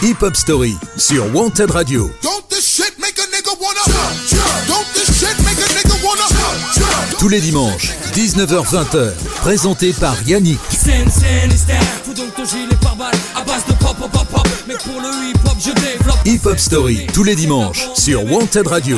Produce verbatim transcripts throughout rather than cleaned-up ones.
Hip Hop Story sur Wanted Radio. Tous les dimanches, dix-neuf heures vingt, présenté par Yannick. Hip Hop Story, tous les dimanches sur Wanted Radio.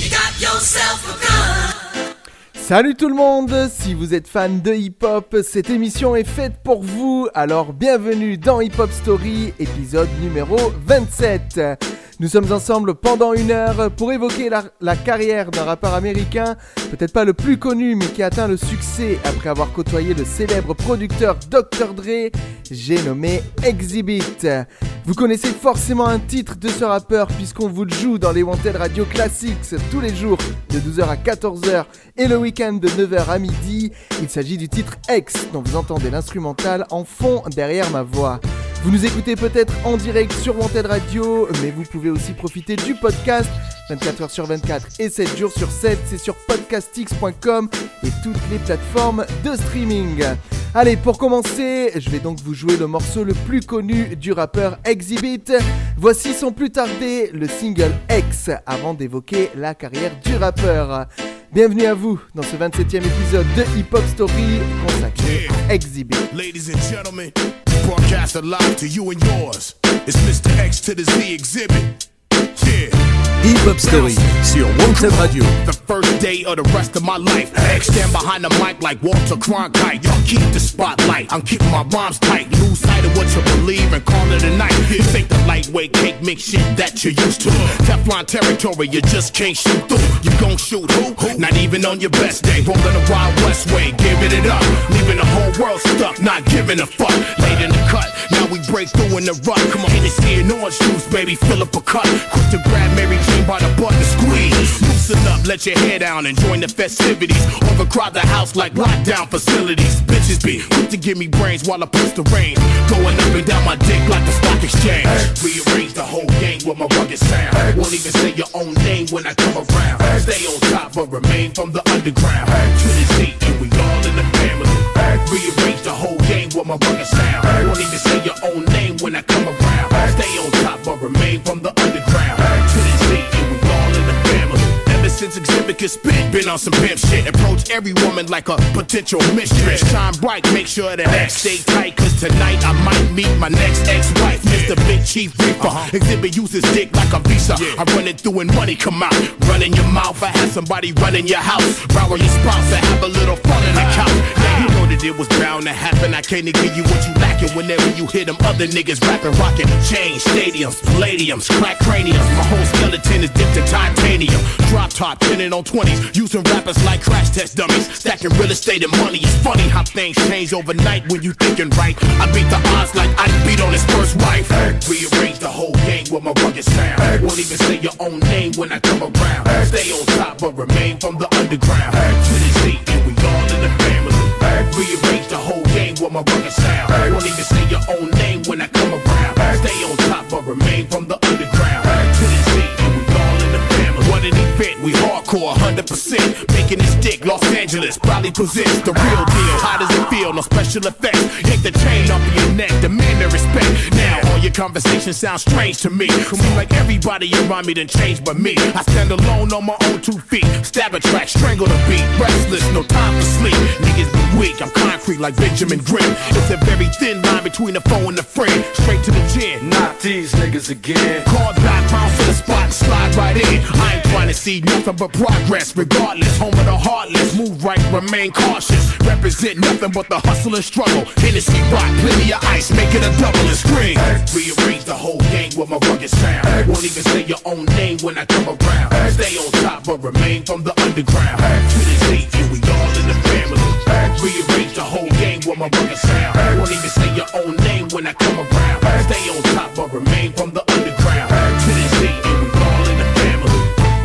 Salut tout le monde, si vous êtes fan de hip-hop, cette émission est faite pour vous, alors bienvenue dans Hip Hop Story, épisode numéro vingt-sept. Nous sommes ensemble pendant une heure pour évoquer la, la carrière d'un rappeur américain, peut-être pas le plus connu mais qui a atteint le succès après avoir côtoyé le célèbre producteur docteur Dre, j'ai nommé Exhibit. Vous connaissez forcément un titre de ce rappeur puisqu'on vous le joue dans les Wanted Radio Classics tous les jours de douze heures à quatorze heures et le week-end de neuf heures à midi. Il s'agit du titre X dont vous entendez l'instrumental en fond derrière ma voix. Vous nous écoutez peut-être en direct sur Wanted Radio, mais vous pouvez aussi profiter du podcast vingt-quatre heures sur vingt-quatre et sept jours sur sept. C'est sur podcastix point com et toutes les plateformes de streaming. Allez, pour commencer, je vais donc vous jouer le morceau le plus connu du rappeur Exhibit. Voici son plus tardé, le single X, avant d'évoquer la carrière du rappeur. Bienvenue à vous dans ce vingt-septième épisode de Hip Hop Story consacré à Exhibit. Ladies and gentlemen, broadcast live to you and yours. It's Mister X to the Z Exhibit. Yeah. Hip Hop Story sur Wanted Radio. The first day of the rest of my life. X stand behind the mic like Walter Cronkite. Y'all keep the spotlight. I'm keeping my rhymes tight. Lose sight of what you believe and call it a night. This ain't the lightweight cake mix shit that you're used to. Teflon territory, you just can't shoot through. You gon' shoot who? Not even on your best day. Rolling the Wild West way, giving it up. Leaving the whole world stuck, not giving a fuck. Late in the cut, now we break through in the rut. Come on, Hennessy and orange juice, baby, fill up a cup. Quick to grab Mary Jane by the butt and squeeze. Loosen up, let your hair down and join the festivities. Overcrowd the house like lockdown facilities. Bitches be quick to give me brains while I push the reins. Going up and down my dick like the stock exchange. Rearrange the whole game with my rugged sound. Won't even say your own name when I come around. Stay on top but remain from the underground. To the Z and we all in the family. Rearrange the whole game with my rugged sound. Won't even say your own name when I come around. Stay on top but remain from the underground. To the Z and we all in the family. Ever since Exhibit could spit, been on some pimp shit. Approach every woman like a potential mistress. Shine bright, make sure that X stay tight. Cause tonight I might meet my next ex-wife, Mister Big Chief Reaper. Uh-huh. Exhibit uses dick like a visa. Yeah. I run it through and money come out. Run in your mouth, I have somebody run in your house. Borrow your spouse and have a little fun in the couch. Now you know that it was bound to happen. I can't give you what you lacking whenever you hear them other niggas rapping, rocking. Chains, stadiums, palladiums, crack craniums. My whole skeleton is dipped in titanium. Drop top, pinning on twenties. Using rappers like crash test dummies. Stacking real estate and money. It's funny how things change overnight when you thinking right. I beat the odds like I beat on his first wife. Rearrange the whole game with my rugged sound. Won't even say your own name when I come around. Stay on top but remain from the underground. To the Z and we all in the family. Rearrange the whole game with my rugged sound. Won't even say your own name when I come around. Stay on top but remain from the underground. To the Z and we all in the family. What an event, we hardcore one hundred percent. Making this dick, Los Angeles probably possess the real deal. How does it feel? No special effects. Yank the chain off of your neck, demand the respect. Now all your conversations sound strange to me. Seem like everybody around me done changed but me. I stand alone on my own two feet. Stab a track, strangle the beat. Restless, no time for sleep. Niggas be weak, I'm concrete like Benjamin Grimm. It's a very thin line between the foe and the friend. Straight to the chin. Not these niggas again. Call back, bounce to the spot and slide right in. I ain't trying to see nothing but progress. Regardless, home of the heartless. Move right, remain cautious. Represent nothing but the hustle and struggle. Hennessy rock, plenty of ice, make it a double and scream. Rearrange the whole game with my rugged sound. Won't even say your own name when I come around. Stay on top but remain from the underground. To the Z and we all in the family. Rearrange the whole game with my rugged sound. Won't even say your own name when I come around. Stay on top but remain from the underground. To the Z and we all in the family.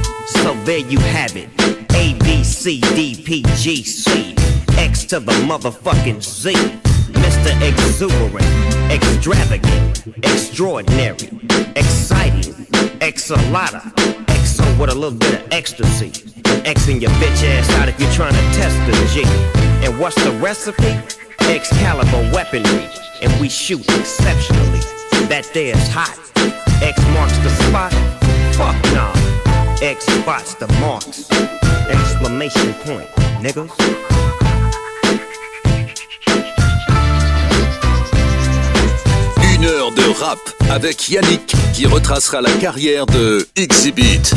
So there you have it. A, B, C, D, P, G, C. X to the motherfucking Z. Mister Exuberant, extravagant, extraordinary, exciting, exalata, exo with a little bit of ecstasy. Xing your bitch ass out if you're trying to test the G. And what's the recipe? Excalibur weaponry, and we shoot exceptionally. that there's hot. X marks the spot? Fuck nah. X spots the marks. Exclamation point, niggas. Une heure de rap avec Yannick qui retracera la carrière de Xzibit.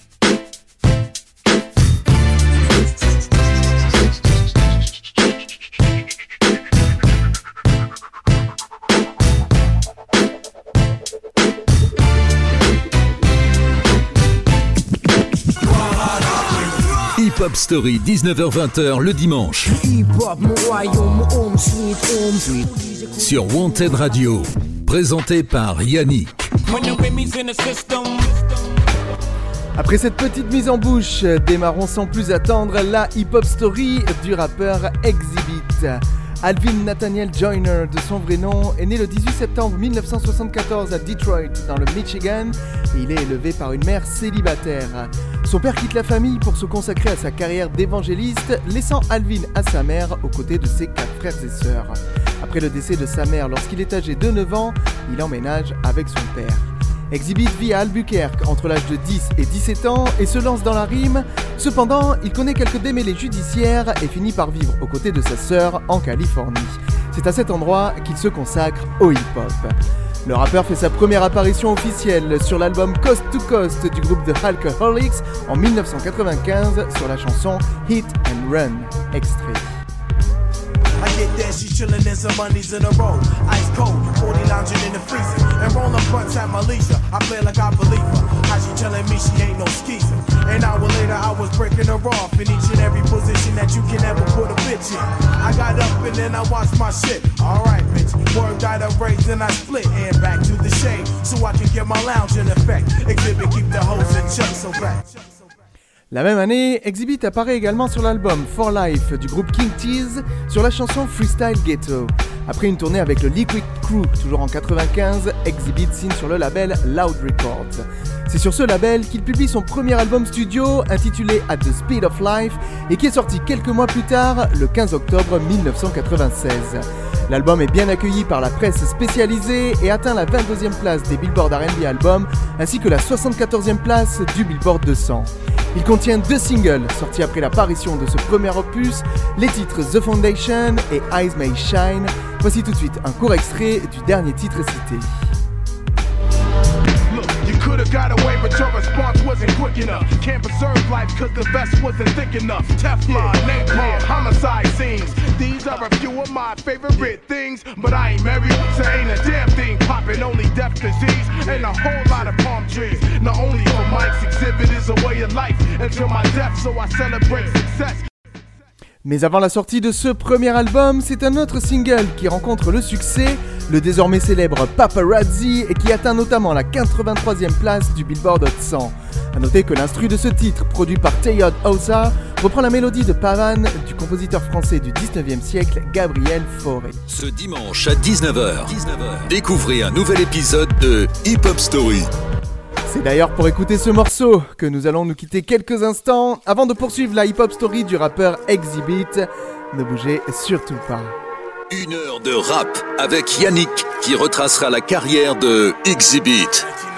Hip Hop Story, dix-neuf heures vingt le dimanche. Sur Wanted Radio, présenté par Yannick. Après cette petite mise en bouche, démarrons sans plus attendre la Hip Hop Story du rappeur Xzibit. Alvin Nathaniel Joyner, de son vrai nom, est né le dix-huit septembre mille neuf cent soixante-quatorze à Detroit, dans le Michigan, et il est élevé par une mère célibataire. Son père quitte la famille pour se consacrer à sa carrière d'évangéliste, laissant Alvin à sa mère aux côtés de ses quatre frères et sœurs. Après le décès de sa mère lorsqu'il est âgé de neuf ans, il emménage avec son père. Xzibit vit à Albuquerque entre l'âge de dix et dix-sept ans et se lance dans la rime. Cependant, il connaît quelques démêlés judiciaires et finit par vivre aux côtés de sa sœur en Californie. C'est à cet endroit qu'il se consacre au hip-hop. Le rappeur fait sa première apparition officielle sur l'album Coast to Coast du groupe The Alcoholics en dix-neuf cent quatre-vingt-quinze sur la chanson Hit and Run. Extrait. I get there, she chillin' in some money's in a row. Ice cold, forty lounging in the freezer. And rollin' blunts at my leisure. I play like I believe her. How she tellin' me she ain't no skeezer. An hour later, I was breaking her off in each and every position that you can ever put a bitch in. I got up and then I watched my shit. Alright, bitch. Word got up raised and I split. And back to the shade so I can get my lounge in effect. Exhibit, keep the hoes in check, so back. La même année, Xzibit apparaît également sur l'album For Life du groupe King Tease sur la chanson Freestyle Ghetto. Après une tournée avec le Liquid Crew, toujours en quatre-vingt-quinze, Xzibit signe sur le label Loud Records. C'est sur ce label qu'il publie son premier album studio intitulé At the Speed of Life et qui est sorti quelques mois plus tard, le quinze octobre dix-neuf cent quatre-vingt-seize. L'album est bien accueilli par la presse spécialisée et atteint la vingt-deuxième place des Billboard R and B Albums ainsi que la soixante-quatorzième place du Billboard deux cents. Il contient deux singles sortis après l'apparition de ce premier opus, les titres The Foundation et Eyes May Shine. Voici tout de suite un court extrait du dernier titre cité. Could've got away, but your response wasn't quick enough. Can't preserve life cause the vest wasn't thick enough. Teflon, napalm, homicide scenes. These are a few of my favorite things. But I ain't married, so ain't a damn thing poppin'. Only death, disease, and a whole lot of palm trees. Not only for Mike's exhibit is a way of life until my death, so I celebrate success. Mais avant la sortie de ce premier album, c'est un autre single qui rencontre le succès, le désormais célèbre Paparazzi, et qui atteint notamment la quatre-vingt-troisième place du Billboard Hot cent. A noter que l'instru de ce titre, produit par Teyod Osa, reprend la mélodie de Pavan du compositeur français du dix-neuvième siècle, Gabriel Fauré. Ce dimanche à dix-neuf heures, découvrez un nouvel épisode de Hip Hop Story. C'est d'ailleurs pour écouter ce morceau que nous allons nous quitter quelques instants avant de poursuivre la hip-hop story du rappeur Xzibit. Ne bougez surtout pas. Une heure de rap avec Yannick qui retracera la carrière de Xzibit.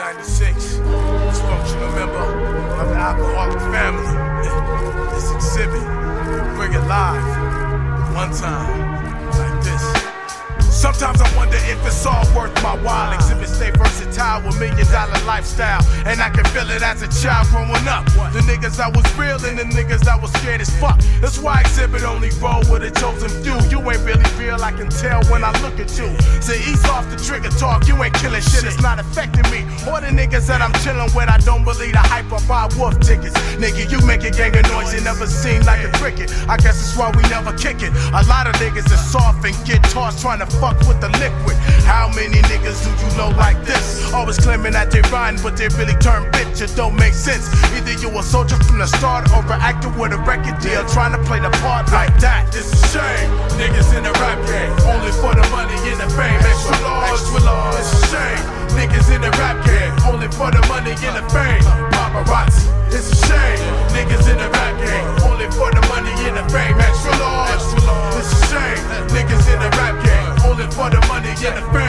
Sometimes I wonder if it's all worth my while. Exhibit stay versatile with million dollar lifestyle. And I can feel it as a child growing up. The niggas that was real and the niggas that was scared as fuck. That's why Exhibit only roll with a chosen few. You ain't really real, I can tell when I look at you. Say ease off the trigger talk, you ain't killing shit, it's not affecting me. Or the niggas that I'm chilling with, I don't believe the hype or buy wolf tickets. Nigga, you make a gang of noise, you never seem like a cricket. I guess that's why we never kick it. A lot of niggas are soft and get tossed trying to fuck with the liquid. How many niggas do you know like this? Always claiming that they rhyme, but they really turn bitch. It don't make sense. Either you a soldier from the start or an actor with a record deal trying to play the part like that. It's a shame. Niggas in the rap game, only for the money and the fame. Extra large, extra large. It's a shame. Niggas in the rap game, only for the money and the fame. Paparazzi. It's a shame. Niggas in the rap game, only for the money and the fame. Extra large, extra large. It's a shame. Niggas in the rap game, only for the money and the fame.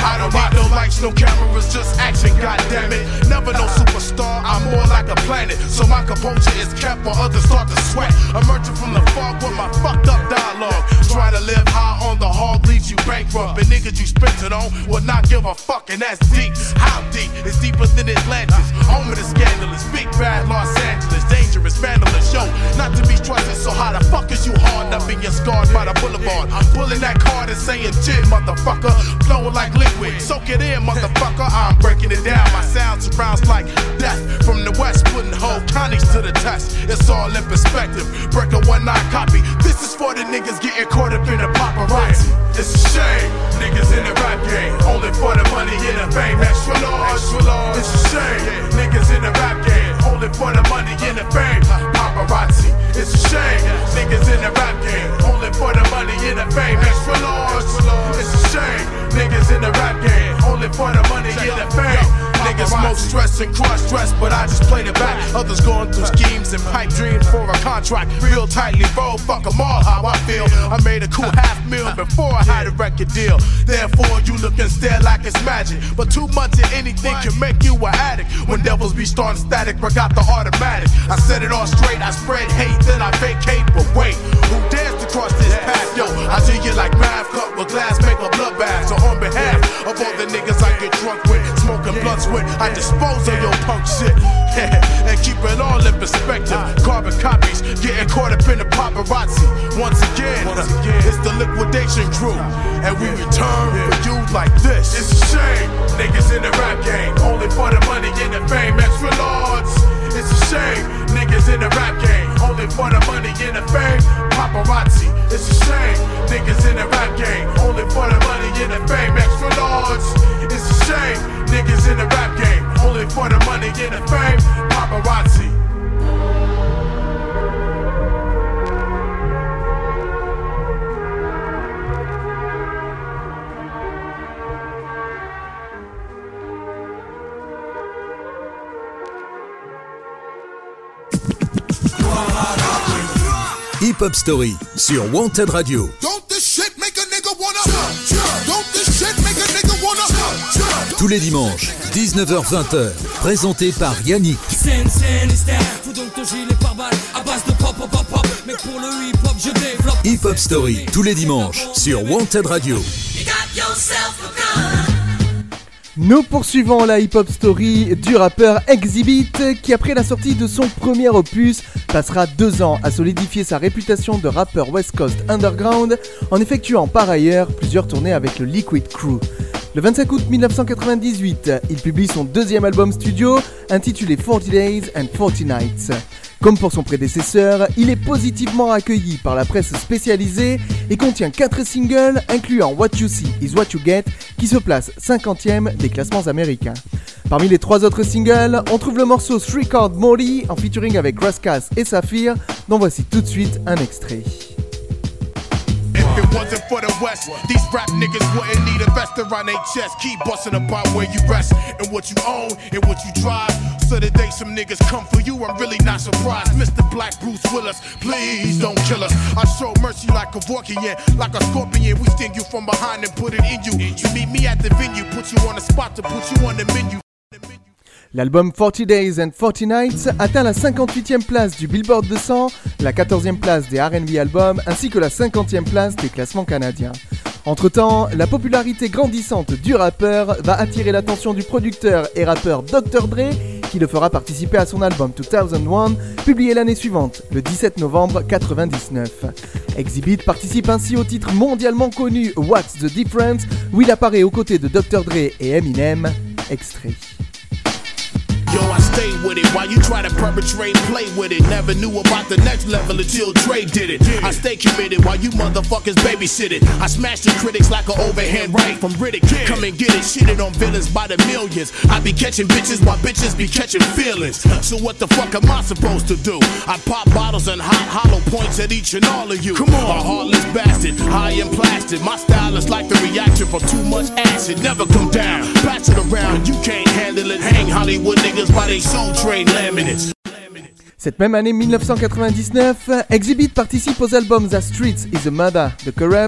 I don't need no lights, no cameras, just action, goddammit. Never no superstar, I'm more like a planet. So my composure is kept while others start to sweat. Emerging from the fog with my fucked up dialogue. Trying to live high on the hog leaves you bankrupt. And niggas you spent it on will not give a fuck, and that's deep. How deep? It's deeper than Atlantis. Home of the scandalous, big bad Los Angeles. Dangerous, vandalous, yo, not to be trusted. So how the fuck is you hard up in your scars by the boulevard? I'm pulling that card and saying shit, motherfucker. Flowing like liquid, soak it in, motherfucker. I'm breaking it down, my sound surrounds like death. From the west, putting whole counties to the test. It's all in perspective, break a one nine copy. This is for the niggas getting caught up in the paparazzi. It's a shame, niggas in the rap game, only for the money and the fame. Extra large, extra large. It's a shame, niggas in the rap game, only for the money and the fame. Paparazzi. It's a shame, niggas in the rap game, only for the money and the fame. Extra large. It's a shame, niggas in the rap game, only for the money and the fame. Niggas most stressed and cross-dressed, but I just played it back. Others going through schemes and pipe dreams for a contract. Real tightly rolled, fuck them all how I feel. I made a cool half meal before I had a record deal. Therefore you look and stare like it's magic, but too much of anything can make you an addict. When devils be starting static, I got the automatic. I set it all straight, I spread hate, then I vacate. But wait, who dares to cross this path? Yo, I do you like math, cup with glass, make a bloodbath. So on behalf of all the niggas I get drunk with, smoking blunts with, I dispose of your punk shit. And keep it all in perspective. Carbon copies, getting caught up in the paparazzi. Once again, Once again it's the liquidation crew, and we return for you like this. It's a shame, niggas in the rap game, only for the money and the fame. Extra large. It's a shame, niggas in the rap game, only for the money and the fame. Paparazzi. It's a shame, niggas in the rap game, only for the money and the fame. Extra large. It's a shame, niggas in the rap game, only for the money and the fame. Paparazzi. Hip Hop Story sur Wanted Radio. Tous les dimanches, dix-neuf heures vingt, présenté par Yannick. Hip Hop Story, tous les dimanches, sur Wanted Radio. Nous poursuivons la hip-hop story du rappeur Exhibit qui, après la sortie de son premier opus, passera deux ans à solidifier sa réputation de rappeur West Coast Underground en effectuant par ailleurs plusieurs tournées avec le Liquid Crew. Le vingt-cinq août dix-neuf cent quatre-vingt-dix-huit, il publie son deuxième album studio intitulé forty days and forty nights. Comme pour son prédécesseur, il est positivement accueilli par la presse spécialisée et contient quatre singles incluant What You See Is What You Get qui se place cinquantième des classements américains. Parmi les trois autres singles, on trouve le morceau Three Chord Molly en featuring avec Rascas et Saphir, dont voici tout de suite un extrait. If it wasn't for the West, these rap niggas wouldn't need a vest around their chest. Keep busting about where you rest and what you own and what you drive. So the day some niggas come for you, I'm really not surprised. Mister Black Bruce Willis, please don't kill us. I show mercy like a Vorkian, like a scorpion. We sting you from behind and put it in you. You meet me at the venue, put you on the spot to put you on the menu. L'album forty days and forty nights atteint la cinquante-huitième place du Billboard deux cents, la quatorzième place des R and B albums ainsi que la cinquantième place des classements canadiens. Entre-temps, la popularité grandissante du rappeur va attirer l'attention du producteur et rappeur docteur Dre qui le fera participer à son album deux mille un, publié l'année suivante, le dix-sept novembre quatre-vingt-dix-neuf. Exhibit participe ainsi au titre mondialement connu What's the Difference, où il apparaît aux côtés de docteur Dre et Eminem. Extrait. Yo, I stay with it while you try to perpetrate, play with it. Never knew about the next level until Dre did it. I stay committed while you motherfuckers babysit it. I smash the critics like an overhand right from Riddick. Come and get it, shitted on villains by the millions. I be catching bitches while bitches be catching feelings. So what the fuck am I supposed to do? I pop bottles and hot hollow points at each and all of you. Come on, a heartless bastard, high and plastic. My style is like the reaction from too much acid. Never come down, pass it around. You can't handle it. Hang Hollywood niggas. Cette même année dix-neuf cent quatre-vingt-dix-neuf, Exhibit participe aux albums The Streets is a Mother, The Corrupt,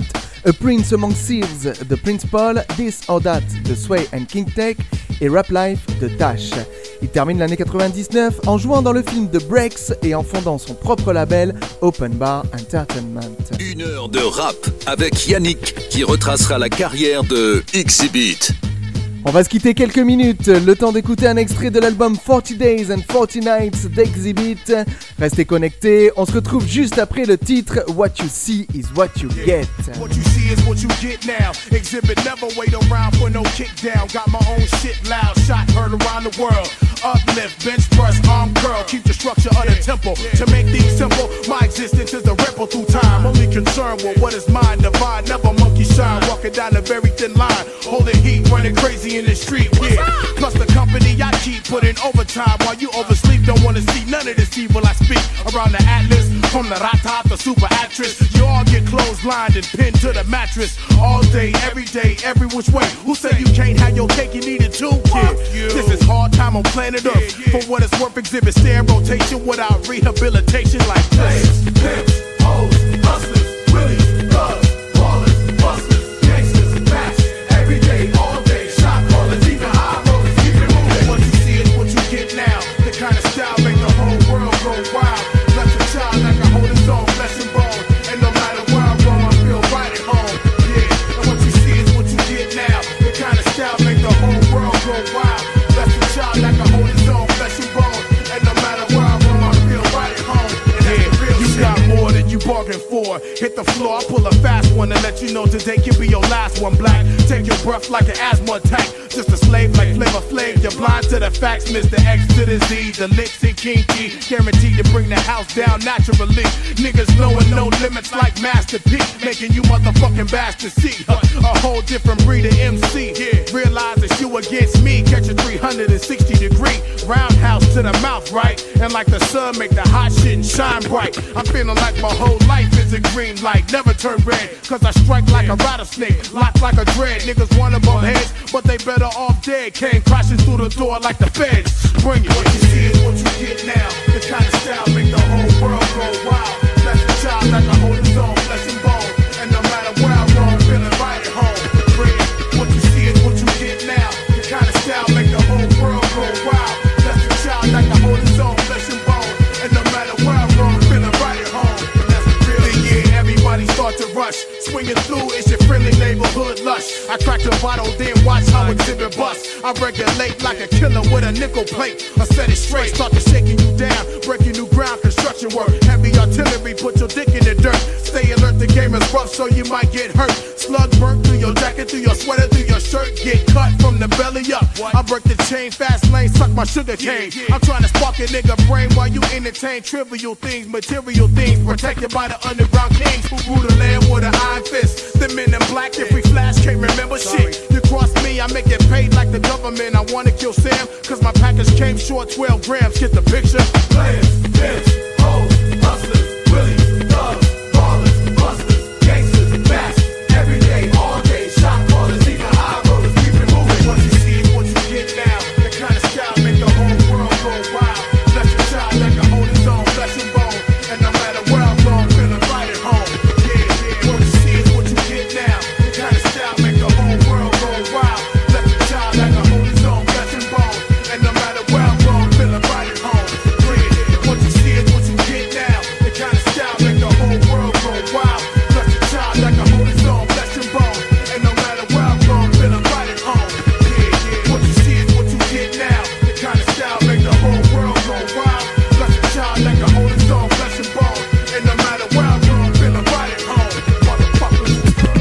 A Prince Among Thieves de Prince Paul, This or That de Sway and King Tech et Rap Life de Dash. Il termine l'année quatre-vingt-dix-neuf en jouant dans le film The Breaks et en fondant son propre label Open Bar Entertainment. Une heure de rap avec Yannick qui retracera la carrière de Exhibit. On va se quitter quelques minutes, le temps d'écouter un extrait de l'album forty days and forty nights d'Exhibit. Restez connectés, on se retrouve juste après le titre What You See Is What You Get. What you see is what you get now. Exhibit never wait around for no kick down. Got my own shit loud, shot heard around the world. Uplift, bench press, arm curl. Keep the structure of the temple. To make things simple, my existence is a ripple through time. Only concerned with what is mine, divine. Never monkey shine, walking down a very thin line. Holding heat, running crazy in the street, yeah. Plus the company I keep putting overtime while you oversleep. Don't wanna see none of this evil I speak around the atlas. From the rata, the super actress. You all get clotheslined and pinned to the mattress. All day, every day, every which way. Who said you can't have your cake, you need it too, kid? This is hard time on planet Earth. For what it's worth, Exhibit stay in rotation without rehabilitation like this. Pimps, pimps, hoes, hustlers, willies, thugs, ballers, busters, gangsters, bats. Every day, all day, shot callers, even high rollers, keep it moving. What you see is what you get now. The kind of style make the whole world go wild. Left a child like I hold his own flesh and bone. And no matter where I roam, I feel right at home. Yeah, and what you see is what you get now. The kind of style make the whole world go wild. Left a child like I hold his own flesh and bone. And no matter where I roam, I feel right at home. And that's the real shit. You got more than you bargained for. Hit the floor, I pull a fast one to let you know today can be your last one. Black, take your breath like an asthma attack. Just a slave like Flavor Flav. You're blind to the facts, Mister X to the Z. The licks and kinky, guaranteed to bring the house down naturally. Niggas knowing no limits like Master P, making you motherfucking bastards see uh, a whole different breed of M C. Yeah. Realize it's you against me. Catch a three hundred sixty degree roundhouse to the mouth, right? And like the sun, make the hot shit shine bright. I'm feeling like my whole life is a green light, never turn red. Cause I strike like a rattlesnake, lock like a dread. Niggas wanna bump heads, but they better off dead. Came crashing through the door like the feds. Bring it. What you see is what you get now. The kind of style make the whole world go wild. That's the child like I hold his own flesh and bone. And no matter where I roam, feeling right at home. Bring it. What you see is what you get now. The kind of style make the whole world go wild. That's the child like I hold his own flesh and bone. And no matter where I roam, feeling right at home. And that's the real shit. Yeah, everybody start to rush. Swinging through, it's your friendly neighborhood lush. I crack the bottle, then watch how Exhibit bust. I regulate like a killer with a nickel plate. I set it straight, start to shaking you down. Breaking new ground, construction work. Heavy artillery, put your dick in the dirt. Stay alert, the game is rough, so you might get hurt. Slug burnt through your jacket, through your sweater, through your shirt. Get cut from the belly up. I break the chain, fast lane, suck my sugar cane. I'm trying to spark a nigga brain while you entertain trivial things, material things. Protected by the underground kings who rule the land with an iron fist. The men in black, if we flash, can't remember shit. You cross me, I make it paid like the government. I wanna kill Sam, cause my package came short twelve grams. Get the picture? Players, pimps, hoes, hustlers, willies, thugs, ballers, busters, gangsters, bats. Every day, all day, shot callers, even high rollers, keep it moving. What you see is what you get now. The kind of style make the whole world go wild. Let your child like a hold his own flesh and bone. And no matter where I'm going, feeling right at home. Yeah, yeah. What you see is what you get now. The kind of style make the whole world go wild. Let your child like a hold his own flesh and bone. And no matter where I'm going, feeling right at home. Yeah, yeah. What you see is what you get now. The kind of style make the whole world go wild. Let your child like a hold his own flesh and bone. And no matter where I'm going, feeling right at home. Yeah, yeah. What you see is what you get now. The kind of style make the whole world go wild. Let your child like a hold his own flesh and bone. And no matter where I'm going, feeling right at home. Motherfuckers.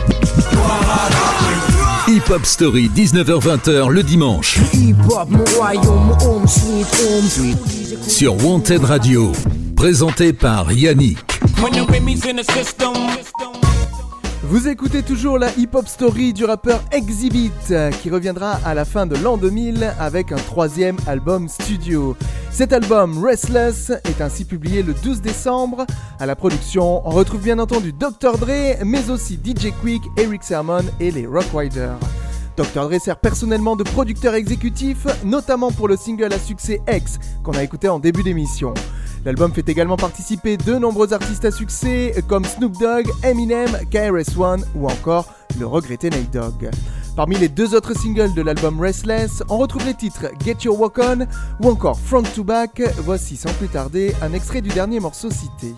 Hip Hop Story, dix-neuf heures vingt le dimanche. Sur Wanted Radio. Présenté par Yannick. Vous écoutez toujours la Hip Hop Story du rappeur Exhibit qui reviendra à la fin de l'an deux mille avec un troisième album studio. Cet album, Restless, est ainsi publié le douze décembre. À la production, on retrouve bien entendu docteur Dre, mais aussi D J Quick, Eric Sermon et les Rock Riders. docteur Dre sert personnellement de producteur exécutif, notamment pour le single à succès X qu'on a écouté en début d'émission. L'album fait également participer de nombreux artistes à succès comme Snoop Dogg, Eminem, K R S One ou encore le regretté Nate Dogg. Parmi les deux autres singles de l'album Restless, on retrouve les titres Get Your Walk On ou encore Front to Back. Voici sans plus tarder un extrait du dernier morceau cité.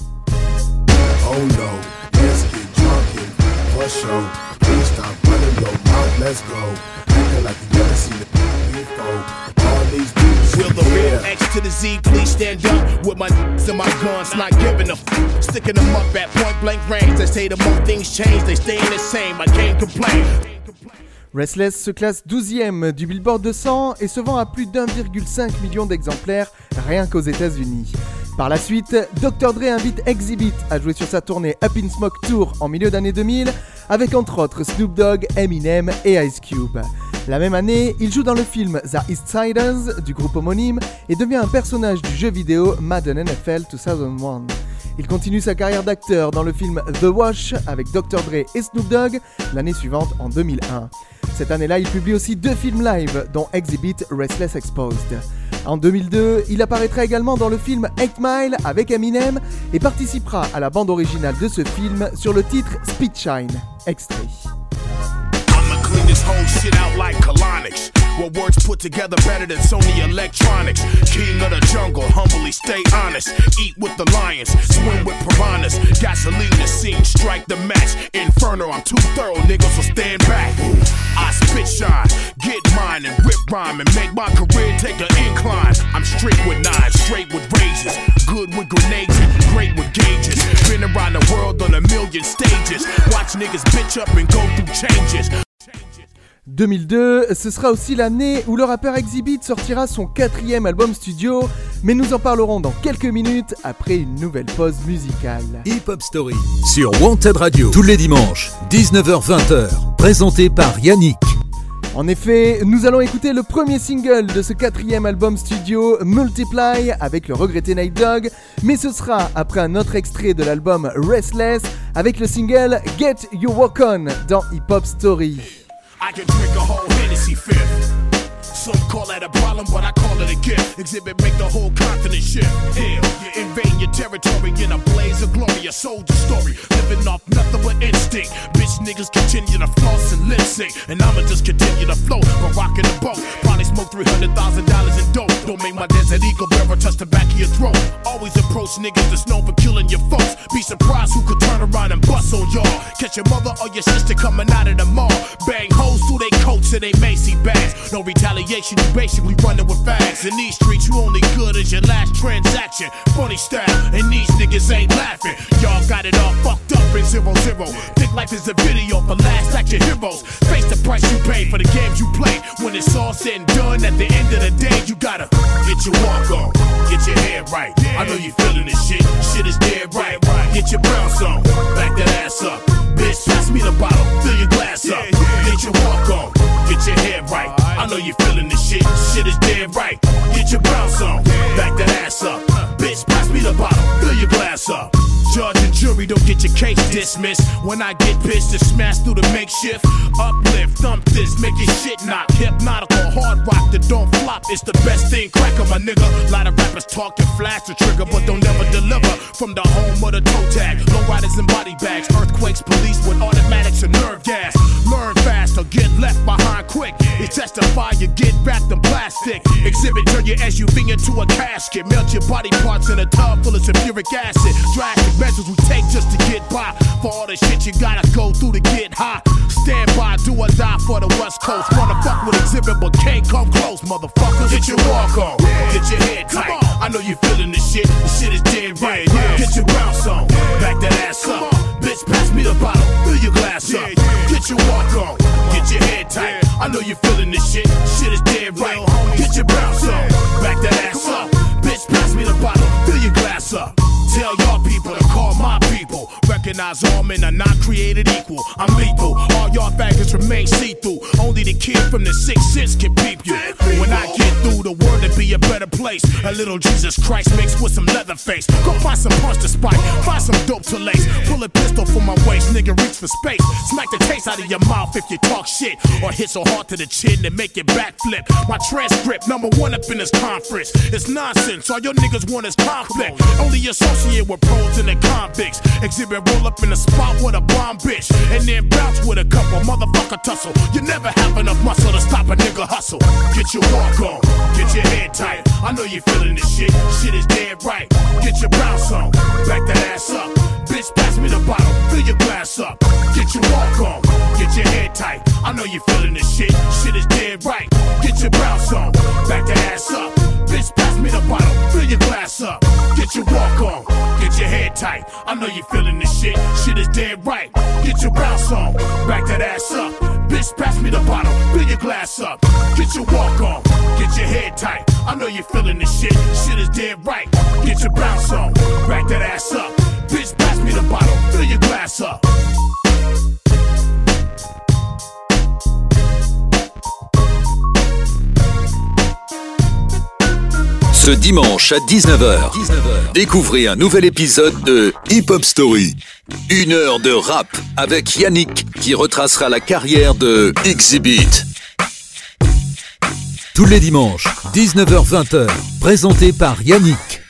Oh no, let's get drunk and for sure. Please stop running your mouth, let's go. Acting like you never seen it before. All these dudes Will the real X to the Z please stand up with my n***s and my guns, not giving a f***, sticking them up at point blank range. They say the more things change, they stay the same, I can't complain. Restless se classe douzième du Billboard deux cents et se vend à plus d'un virgule cinq million d'exemplaires rien qu'aux États-Unis. Par la suite, docteur Dre invite Exhibit à jouer sur sa tournée Up in Smoke Tour en milieu d'année deux mille, avec entre autres Snoop Dogg, Eminem et Ice Cube. La même année, il joue dans le film The East Siders du groupe homonyme et devient un personnage du jeu vidéo Madden N F L deux mille un. Il continue sa carrière d'acteur dans le film The Wash avec docteur Dre et Snoop Dogg l'année suivante en deux mille un. Cette année-là, il publie aussi deux films live, dont Exhibit Restless Exposed. En deux mille deux, il apparaîtra également dans le film eight mile avec Eminem et participera à la bande originale de ce film sur le titre Speed Shine. Extrait. Clean this whole shit out like colonics. Well, words put together better than Sony Electronics. King of the jungle, humbly stay honest. Eat with the lions, swim with piranhas. Gasoline the scene, strike the match. Inferno, I'm too thorough, niggas, so stand back. I spit shine, get mine and rip rhyme and make my career take an incline. I'm strict with nines, straight with razors. Good with grenades, great with gauges. Been around the world on a million stages. Watch niggas bitch up and go through changes. deux mille deux, ce sera aussi l'année où le rappeur Exhibit sortira son quatrième album studio, mais nous en parlerons dans quelques minutes après une nouvelle pause musicale. Hip Hop Story sur Wanted Radio tous les dimanches, dix-neuf heures vingt, présenté par Yannick. En effet, nous allons écouter le premier single de ce quatrième album studio, Multiply, avec le regretté Nate Dogg, mais ce sera après un autre extrait de l'album Restless, avec le single Get Your Walk On dans Hip Hop Story. I can drink a whole Hennessy fifth. Some call that a problem, but I call it a gift. Exhibit make the whole continent shift. Hell, you invade your territory in a blaze of glory. A soldier story, living off nothing but instinct. Bitch niggas continue to floss and lip sync, and I'ma just continue to float while rocking the boat. Probably smoke three hundred thousand dollars in dope. Don't make my desert eagle bearer touch the back of your throat. Always approach niggas that's known for killing your folks. Be surprised who could turn around and bust on y'all. Catch your mother or your sister coming out of the mall. Bang hoes through they coats and they Macy bags. No retaliation, you basically running with fags. In these streets, you only good as your last transaction. Funny style, and these niggas ain't laughing. Y'all got it all fucked up in zero zero. Think life is a video for last action heroes. Face the price you pay for the games you play. When it's all said and done, at the end of the day, you gotta get your walk on, get your head right. I know you feeling this shit, shit is dead right. Get your bounce on, back that ass up. Bitch, pass me the bottle, fill your glass up. Get your walk on, get your head right. I know you feeling this shit, shit is dead right. Get your bounce on, back that ass up. Bitch, pass me the bottle, fill your glass up. Judge and jury don't get your case dismissed. When I get pissed to smash through the makeshift. Uplift, thump this, make your shit knock. Hypnotical, hard rock that don't flop. It's the best thing, cracker, my nigga. Lot of rappers talk and flash the trigger, but don't never deliver. From the home of the toe tag, low riders and body bags. Earthquakes, police with automatics and nerve gas. Learn fast or get left behind quick. It's testify, you get wrapped in plastic. Exhibit, turn your S U V into a casket. Melt your body parts in a tub full of sulfuric acid. Drastic measures we take just to get by. For all the shit you gotta go through to get high. Stand by, do or die for the West Coast. Wanna fuck with Exhibit but can't come close, motherfuckers. Get your walk on, get your head tight. I know you feeling this shit, this shit is dead right. Get your bounce on, back that ass up. Bitch, pass me the bottle, fill your glass up. Get your walk on, get your head tight. I know you feeling this shit, shit is dead right. Get your bounce on, back that ass up. Bitch, pass me the bottle, fill your glass up. Tell y'all people to call my people. Recognize all men are not created equal. I'm lethal. All y'all faggots remain see-through. only the kid from the Sixth Sense can peep you. When I get through, the world to be a better place. A little Jesus Christ mixed with some leather face. Go find some punch to spike, find some dope to lace. Pull a pistol from my waist, nigga, reach for space. Smack the taste out of your mouth if you talk shit, or hit so hard to the chin to make it backflip. My transcript, number one up in this conference. It's nonsense, all your niggas want is conflict. Only associate with pros and the convicts. Exhibit roll up in the spot with a bomb bitch, and then bounce with a couple motherfucker tussle. You never have enough muscle to stop a nigga hustle. Get your walk on, get your head tight. I know you feeling this shit, shit is dead right. Get your bounce on, back that ass up. Bitch, pass me the bottle, fill your glass up. Get your walk on, get your head tight. I know you feeling this shit, shit is dead right. Get your bounce on, back that ass up. Bitch, pass me the bottle, fill your glass up. Get your walk on, get your head tight. I know you feeling this shit, shit is dead right. Get your bounce on, back that ass up. Bitch, pass me the bottle, fill your glass up. Get your walk on, get your head tight. I know you feeling this shit, shit is dead right. Get your bounce on, back that ass up. Bitch, pass me the bottle, fill your glass up. Ce dimanche à dix-neuf heures, découvrez un nouvel épisode de Hip Hop Story. Une heure de rap avec Yannick qui retracera la carrière de Exhibit. Tous les dimanches, dix-neuf heures vingt, présenté par Yannick.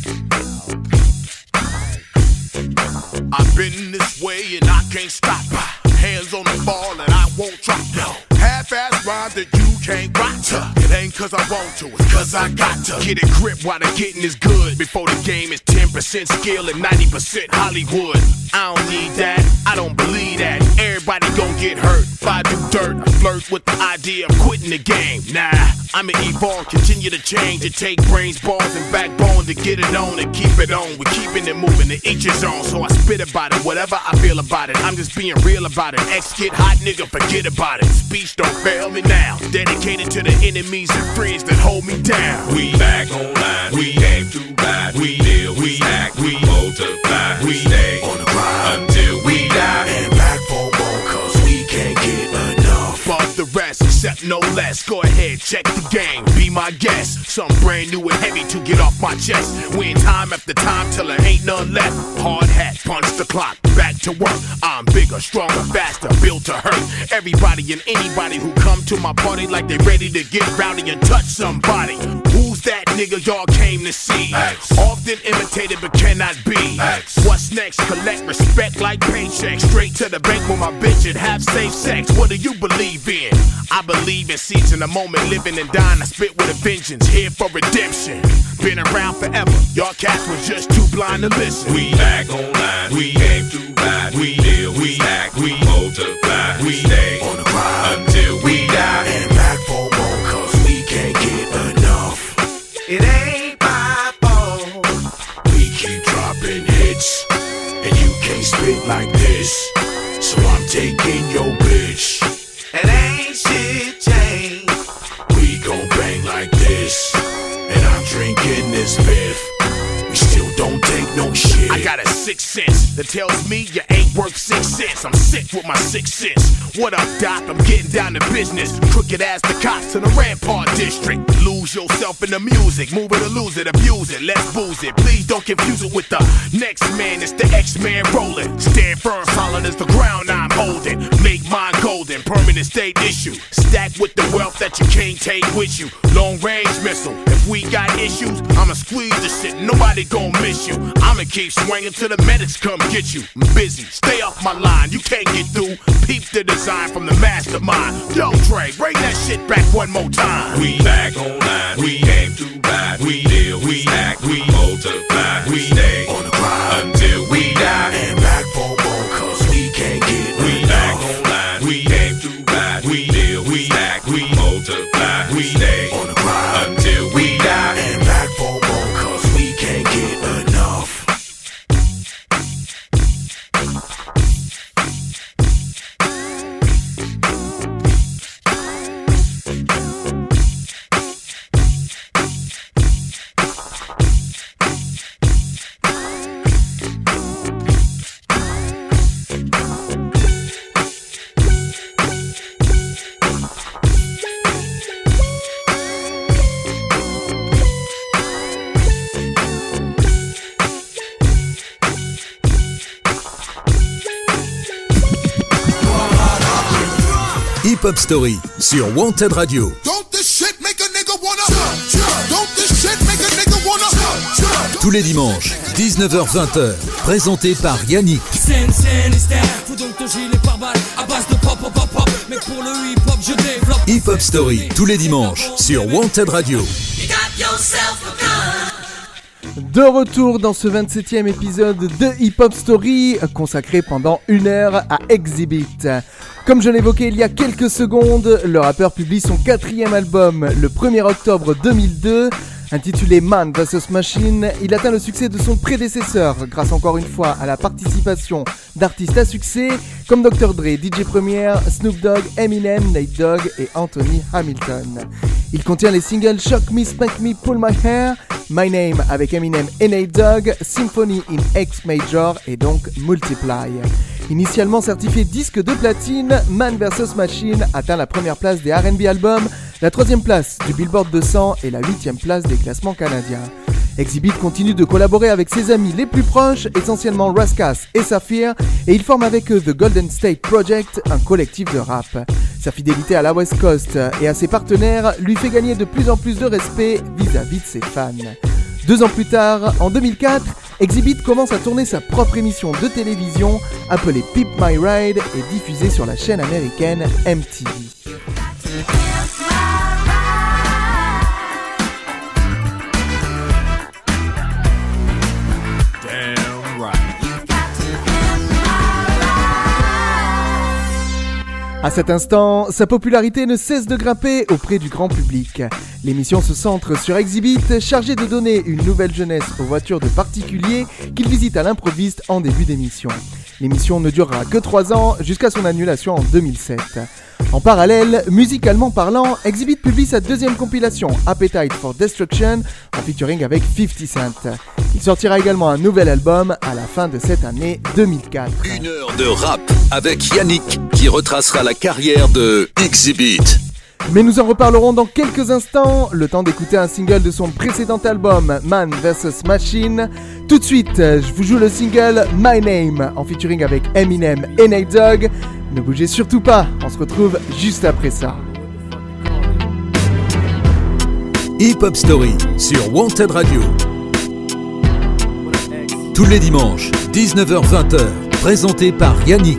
I've been this way and I can't stop. Hands on the ball and I won't drop. Half-ass rhyme that you can't rock to. It ain't cause I want to, it's cause I got to. Get a grip while the getting is good. Before the game is ten percent skill and ninety percent Hollywood. I don't need that, I don't believe that. Everybody gon' get hurt if I do dirt. I flirt with the idea of quitting the game. Nah, I'ma evolve, continue to change. It take brains, balls, and backbone to get it on and keep it on. We're keeping it moving to each his own. So I spit about it, whatever I feel about it. I'm just being real about it. X get hot, nigga, forget about it. Speech don't fail me now. Dedicated to the enemies and friends that hold me down. We back online, we came too bad. We deal, we act, we multiply. We stay on the grind until we die. And back for more cause we can't get enough. Fuck the rest, except no less. Go ahead, check the game, be my guest. Something brand new and heavy to get off my chest. Win time after time till there ain't none left. Hard hat, punch the clock, back to work. I'm bigger, stronger, faster, built to hurt. Everybody and anybody who come to my party like they ready to get rowdy and touch somebody. Who's that nigga y'all came to see? X. Often imitated but cannot be. X. What's next? Collect respect like paychecks. Straight to the bank with my bitch and have safe sex. What do you believe in? I believe in seizing the moment, living and dying. I spit with a vengeance, here for redemption. Been around forever, y'all cats was just too blind to listen. We back online, we came too bad. We deal, we act, we multiply. We stay On the grind until we die. and back for more cause we can't get enough. It ain't my fault. We keep dropping hits and you can't spit like this. So I'm taking your bitch. It ain't shit changed. We gon' bang like this. And I'm drinking this fifth. We still don't take no shit. I got a sixth sense that tells me you ain't worth six cents. I'm sick with my sixth sense. What up, Doc? I'm getting down to business. Crooked ass the cops in the Rampart District. Lose yourself in the music. Move it or lose it, abuse it. Let's booze it. Please don't confuse it with the next man. It's the X-Man rolling. Stand firm, solid as the ground I'm holding. Make mine golden, permanent state issue. Stack with the wealth that you can't take with you. Long range missile. If we got issues, I'ma squeeze the shit. Nobody gon' miss you. I'ma keep swinging till the medics come get you. I'm busy, stay off my line. You can't get through. Peep the design from the mastermind. Yo, Dre, bring that shit back one more time. We back online, we came too bad. We deal, we act, we multiply. We stay On the grind until we die. and back for more cause we can't get We enough. back online, we came too bad. We deal, we act, we multiply. We stay On the grind until we die. and back for more cause we can't get enough. Hip-Hop Story sur Wanted Radio. Tous les dimanches, dix-neuf heures vingt, présenté par Yannick. Hip-Hop Story, tous les dimanches, sur Wanted Radio. De retour dans ce vingt-septième épisode de Hip-Hop Story, consacré pendant une heure à Exhibit. Comme je l'évoquais il y a quelques secondes, le rappeur publie son quatrième album le premier octobre deux mille deux. Intitulé Man versus. Machine, il atteint le succès de son prédécesseur grâce encore une fois à la participation d'artistes à succès comme docteur Dre, D J Premier, Snoop Dogg, Eminem, Nate Dogg et Anthony Hamilton. Il contient les singles Shock Me, Spank Me, Pull My Hair, My Name avec Eminem et Nate Dogg, Symphony in X Major et donc Multiply. Initialement certifié disque de platine, Man versus. Machine atteint la première place des R and B albums, la troisième place du Billboard deux cents et la huitième place des classements canadiens. Exhibit continue de collaborer avec ses amis les plus proches, essentiellement Raskas et Saphir, et il forme avec eux The Golden State Project, un collectif de rap. Sa fidélité à la West Coast et à ses partenaires lui fait gagner de plus en plus de respect vis-à-vis de ses fans. Deux ans plus tard, en deux mille quatre, Exhibit commence à tourner sa propre émission de télévision appelée Pimp My Ride et diffusée sur la chaîne américaine M T V. À cet instant, sa popularité ne cesse de grimper auprès du grand public. L'émission se centre sur Exhibit, chargé de donner une nouvelle jeunesse aux voitures de particuliers qu'il visite à l'improviste en début d'émission. L'émission ne durera que trois ans, jusqu'à son annulation en deux mille sept. En parallèle, musicalement parlant, Exhibit publie sa deuxième compilation, Appetite for Destruction, en featuring avec fifty Cent. Il sortira également un nouvel album à la fin de cette année deux mille quatre. Une heure de rap avec Yannick qui retracera la carrière de Exhibit. Mais nous en reparlerons dans quelques instants, le temps d'écouter un single de son précédent album, Man versus. Machine. Tout de suite, je vous joue le single My Name, en featuring avec Eminem et Nate Dogg. Ne bougez surtout pas, on se retrouve juste après ça. Hip-Hop Story sur Wanted Radio. Tous les dimanches, dix-neuf heures vingt, présenté par Yannick.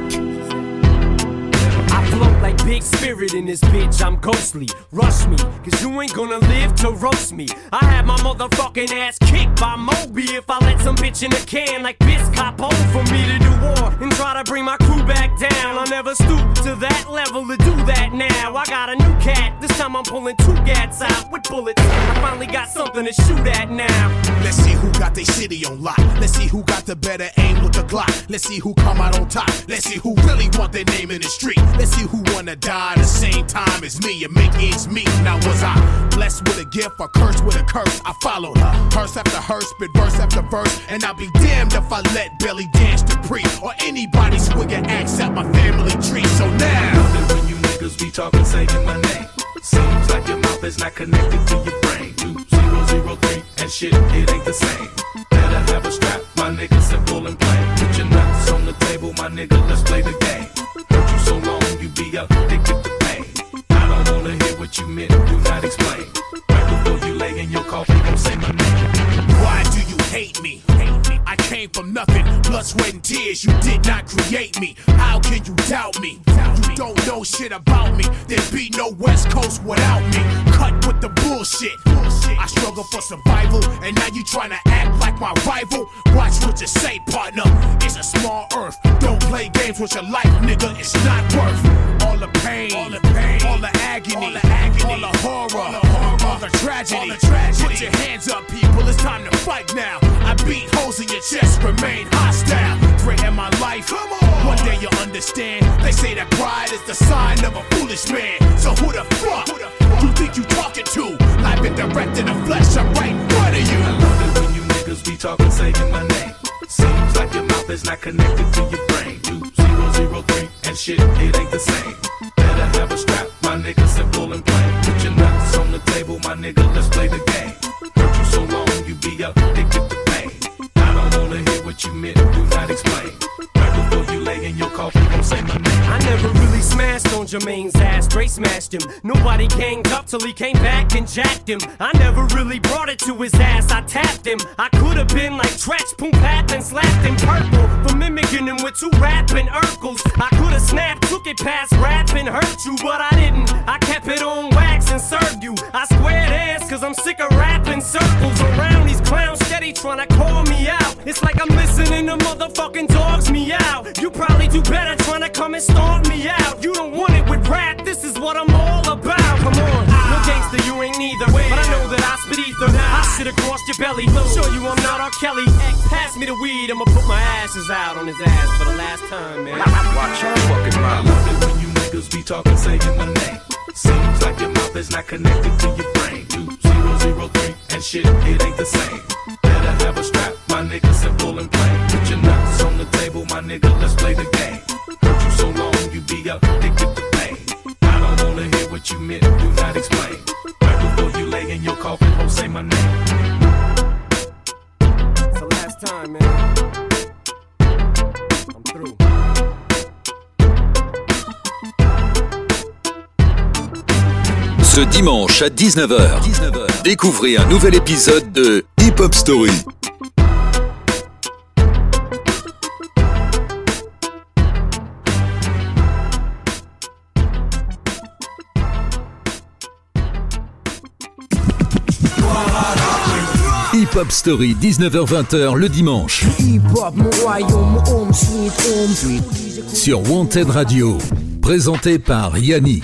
Big spirit in this bitch, I'm ghostly. Rush me, cause you ain't gonna live to roast me. I had my motherfucking ass kicked by Moby if I let some bitch in a can like Biscop hold for me to do war and try to bring my crew back down. I never stooped to that level to do that now. I got a new cat, this time I'm pulling two gats out with bullets. I finally got something to shoot at now. Let's see who got their city on lock. Let's see who got the better aim with the Glock. Let's see who come out on top. Let's see who really want their name in the street. Let's see who wanna die the same time as me and make ends meet. Now was I blessed with a gift or cursed with a curse? I followed her, hearse after hearse, spit verse after verse, and I'll be damned if I let Belly Dance to pre or anybody swig an axe at my family tree. So now, when you niggas be talking, saying my name, seems like your mouth is not connected to your brain. Two zero zero three and shit, it ain't the same. Better have a strap, my nigga, simple and plain. Put your nuts on the table, my nigga, let's play the game. Hurt you so long, you be addicted to pain. I don't wanna hear what you meant, do not explain. Right before you lay in your coffin, don't say my name. Why do you hate me? Hate me? I came from nothing, blood, sweat, and tears. You did not create me. How can you doubt me? You don't know shit about me. There'd be no West Coast without me. Cut with the bullshit. I struggle for survival, and now you tryna act like my rival. Watch what you say, partner. It's a small earth. Don't play games with your life, nigga. It's not worth all the pain, all the pain, all the agony, all the, agony, all the horror, all the, horror, all the tragedy. All the tragedy. Put your hands up, people. It's time to fight now. I beat holes in your chest, remain hostile. Threaten my life. Come on. One day you'll understand. They say that pride is the sign of a foolish man. So who the fuck, who the fuck you think you talking to? Live and direct in the flesh, I'm right in front of you. I love it when you niggas be talking, saying my name. Seems like your mouth is not connected to your brain. Two zero zero three and shit, it ain't the same. Better have a strap, my nigga, simple and plain. Put your nuts on the table, my nigga, let's play the game. Hurt you so long, you be addicted to pain. I don't wanna hear what you meant, do not explain. Right Right before you lay in your coffin, don't say my name. I never really smashed on Jermaine's ass, straight smashed him. Nobody ganged up till he came back and jacked him. I never really brought it to his ass, I tapped him. I could have been like Tretch, Poom Pat, and slapped him purple for mimicking him with two rapping Urkels. I could have snapped, took it past rap and hurt you, but I didn't. I kept it on wax and served you. I squared ass cause I'm sick of rapping circles around these clowns steady trying to call me out. It's like I'm listening to motherfucking dogs meow. You probably do better trying to come and stomp me out. You don't want it with rap, this is what I'm all about. Come on, no gangster, you ain't neither. But I know that I spit ether. I sit across your belly, show you I'm not R. Kelly. Pass me the weed, I'ma put my ashes out on his ass for the last time, man. Watch your fucking mouth. I love it when you niggas be talking, saying my name. Seems like your mouth is not connected to your brain. Two zero zero three and shit, it ain't the same. Better have a strap, my nigga, simple and plain. Put your nuts on the table, my nigga, let's play the game. Hurt you so long, you be addicted to pain. I don't wanna hear what you meant, do not explain. Right before you lay in your coffin, don't say my name. It's the last time, man. I'm through. Ce dimanche à dix-neuf heures, découvrez un nouvel épisode de Hip Hop Story. Hip Hop Story, dix-neuf heures vingt le dimanche. Sur Wanted Radio, présenté par Yannick.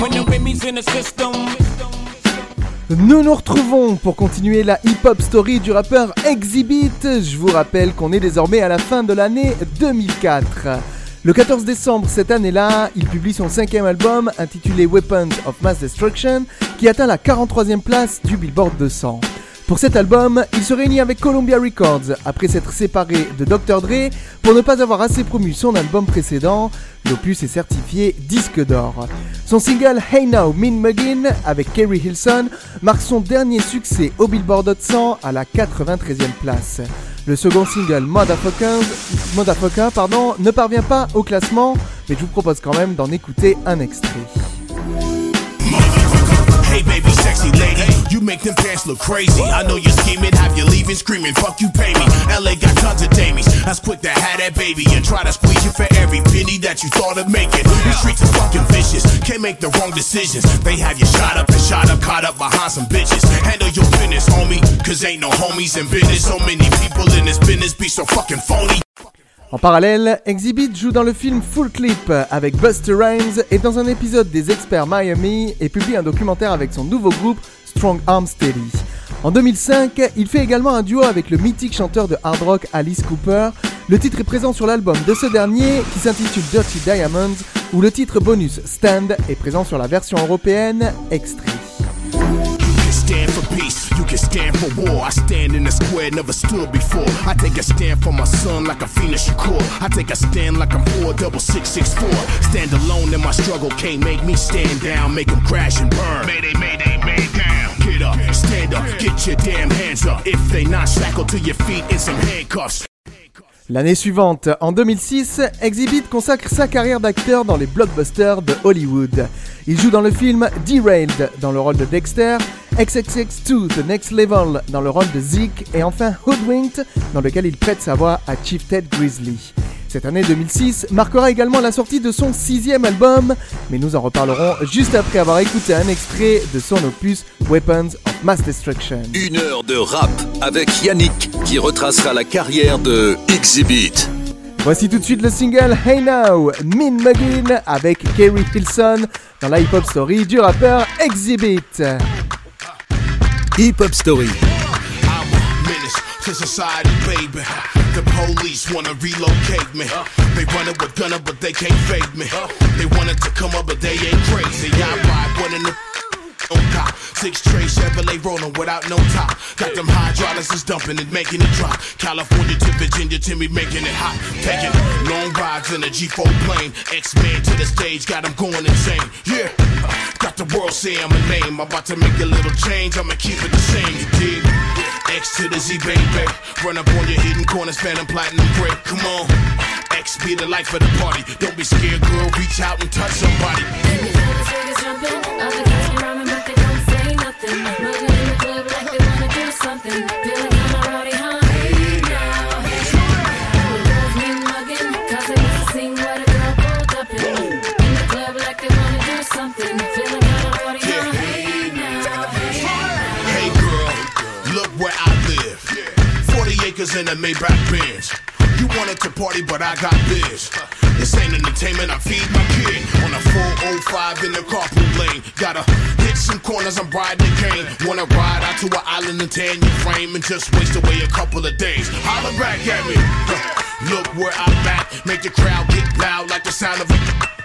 Nous nous retrouvons pour continuer la hip-hop story du rappeur Exhibit. Je vous rappelle qu'on est désormais à la fin de l'année deux mille quatre. Le quatorze décembre cette année-là, il publie son cinquième album intitulé Weapons of Mass Destruction qui atteint la quarante-troisième place du Billboard deux cents. Pour cet album, il se réunit avec Columbia Records après s'être séparé de docteur Dre pour ne pas avoir assez promu son album précédent. L'opus est certifié disque d'or. Son single Hey Now Mean Muggin avec Kerry Hilson marque son dernier succès au Billboard Hot cent à la quatre-vingt-treizième place. Le second single Motherfuckers, Motherfucker pardon, ne parvient pas au classement, mais je vous propose quand même d'en écouter un extrait. Hey baby, sexy lady, you make them pants look crazy. I know you're scheming, have you leaving, screaming, fuck you, pay me. L A got tons of damies, that's quick to have that baby and try to squeeze you for every penny that you thought of making. The streets are fucking vicious, can't make the wrong decisions. They have you shot up and shot up, caught up behind some bitches. Handle your business, homie, cause ain't no homies in business. So many people in this business be so fucking phony. En parallèle, Exhibit joue dans le film Full Clip avec Busta Rhymes et dans un épisode des Experts Miami et publie un documentaire avec son nouveau groupe Strong Arm Steady. En deux mille cinq, il fait également un duo avec le mythique chanteur de hard rock Alice Cooper. Le titre est présent sur l'album de ce dernier qui s'intitule Dirty Diamonds où le titre bonus Stand est présent sur la version européenne Extrait. Stand for peace, you can stand for war. I stand in a square never stood before. I take a stand for my son like a Phoenix Shakur. I take a stand like I'm four double six six four. Stand alone in my struggle, can't make me stand down. Make them crash and burn. Mayday, mayday, man down. Get up, stand up, get your damn hands up. If they not shackled to your feet in some handcuffs. L'année suivante, en deux mille six, Exhibit consacre sa carrière d'acteur dans les blockbusters de Hollywood. Il joue dans le film Derailed dans le rôle de Dexter, X X X deux The Next Level dans le rôle de Zeke et enfin Hoodwinked dans lequel il prête sa voix à Chief Ted Grizzly. Cette année deux mille six marquera également la sortie de son sixième album, mais nous en reparlerons juste après avoir écouté un extrait de son opus Weapons of Mass Destruction. Une heure de rap avec Yannick qui retracera la carrière de Exhibit. Voici tout de suite le single Hey Now, Mean Muggin avec Kerry Hilson dans la hip-hop story du rappeur Exhibit. Hip-hop story. To society, baby. The police wanna relocate me. They running with gunner, but they can't fake me. They wanted to come up, but they ain't crazy. I ride one in the on cop Six tray Chevrolet rolling without no top. Got them hydraulics is dumping and making it drop. California to Virginia to me making it hot. Taking long rides in a G four plane. X-Men to the stage, got them going insane. Yeah, got the world saying my name. I'm about to make a little change, I'ma keep it the same, you dig? X to the Z, baby. Run up on your hidden corners, phantom platinum gray. Come on, X be the life of the party. Don't be scared, girl, reach out and touch somebody. And you feel the niggas jumping, other guys be rhyming, but they don't say nothing. Moving in the club like they wanna do something. Feeling kinda rowdy, huh? Hey now, hey now. The girls be mugging, cause they used to sing what a girl pulled up in. In the club like they wanna do something. Feeling kinda rowdy, huh? Hey now, hey now. Hey girl, look where I live. forty acres in a Maybach Benz. You wanted to party, but I got biz. This ain't entertainment, I feed my kid. On a four oh five in the carpool lane. Gotta hit some corners, I'm riding the cane. Wanna ride out to an island and tan your frame and just waste away a couple of days. Holler back at me. Huh. Look where I'm at. Make the crowd get loud like the sound of a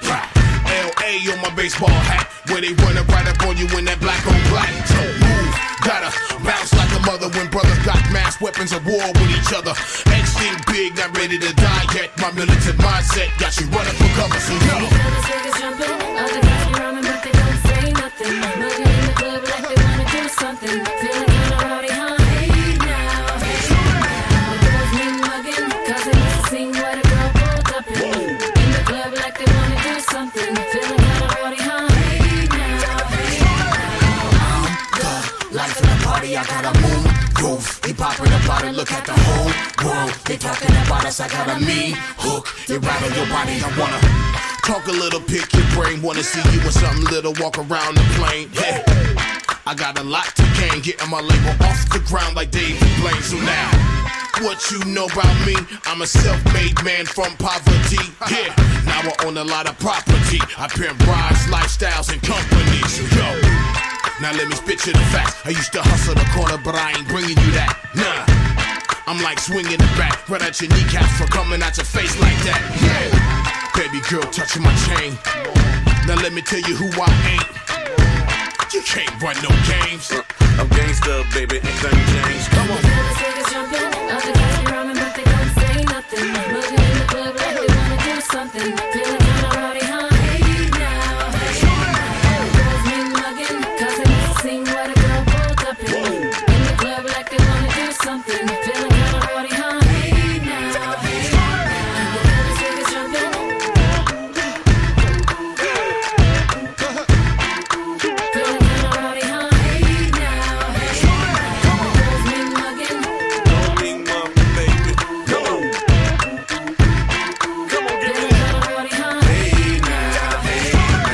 L A on my baseball hat. Where they running right up on you in that black on black. So move, gotta bounce like a mother when brothers got mass weapons of war with each other. X think big, not ready to die yet. My militant mindset got you running for cover, so yo. You feel the niggas jumping, other guys be rhyming, but they don't say nothing. Moving in the club like they wanna do something. Feeling kinda rowdy, huh? Hey now, hey now. The girls be mugging, cause they used to sing what a girl pulled up in. In the club like they wanna do something. Feeling kinda rowdy, huh? Hey now, hey now. The life of the party, I gotta move. Groove, they popping about it, look at the whole world. They talking about us, I got a mean hook. They rattle your body, I wanna talk a little, pick your brain. Wanna see you with something little, walk around the plane. Hey, I got a lot to gain, getting my label off the ground like David Blaine. So now, what you know about me? I'm a self-made man from poverty. Yeah, now I own a lot of property. I pimp rides, lifestyles, and companies. So yo, now let me spit you the facts. I used to hustle the corner, but I ain't bringing you that. Nah, I'm like swinging the bat right at your kneecaps for coming at your face like that. Yeah, baby girl touching my chain. Now let me tell you who I ain't. You can't run no games. Uh, I'm gangsta, baby, ain't nothing changed. Come on. You feel the niggas jumping, other guys be rhyming, but they don't say nothing. Moving in the club like they wanna do something. Feeling kinda rowdy, huh? Hey now, hey now. The girls be mugging, cause they used to sing what a girl pulled up in. In the club like they wanna do something. Feeling kinda rowdy, huh? Hey now, hey now. You feel the niggas jumping. Feeling kinda rowdy, huh? Hey now, hey now. The girls be mugging. Don't need one, baby. Come on. Come on, give me that. Hey now, hey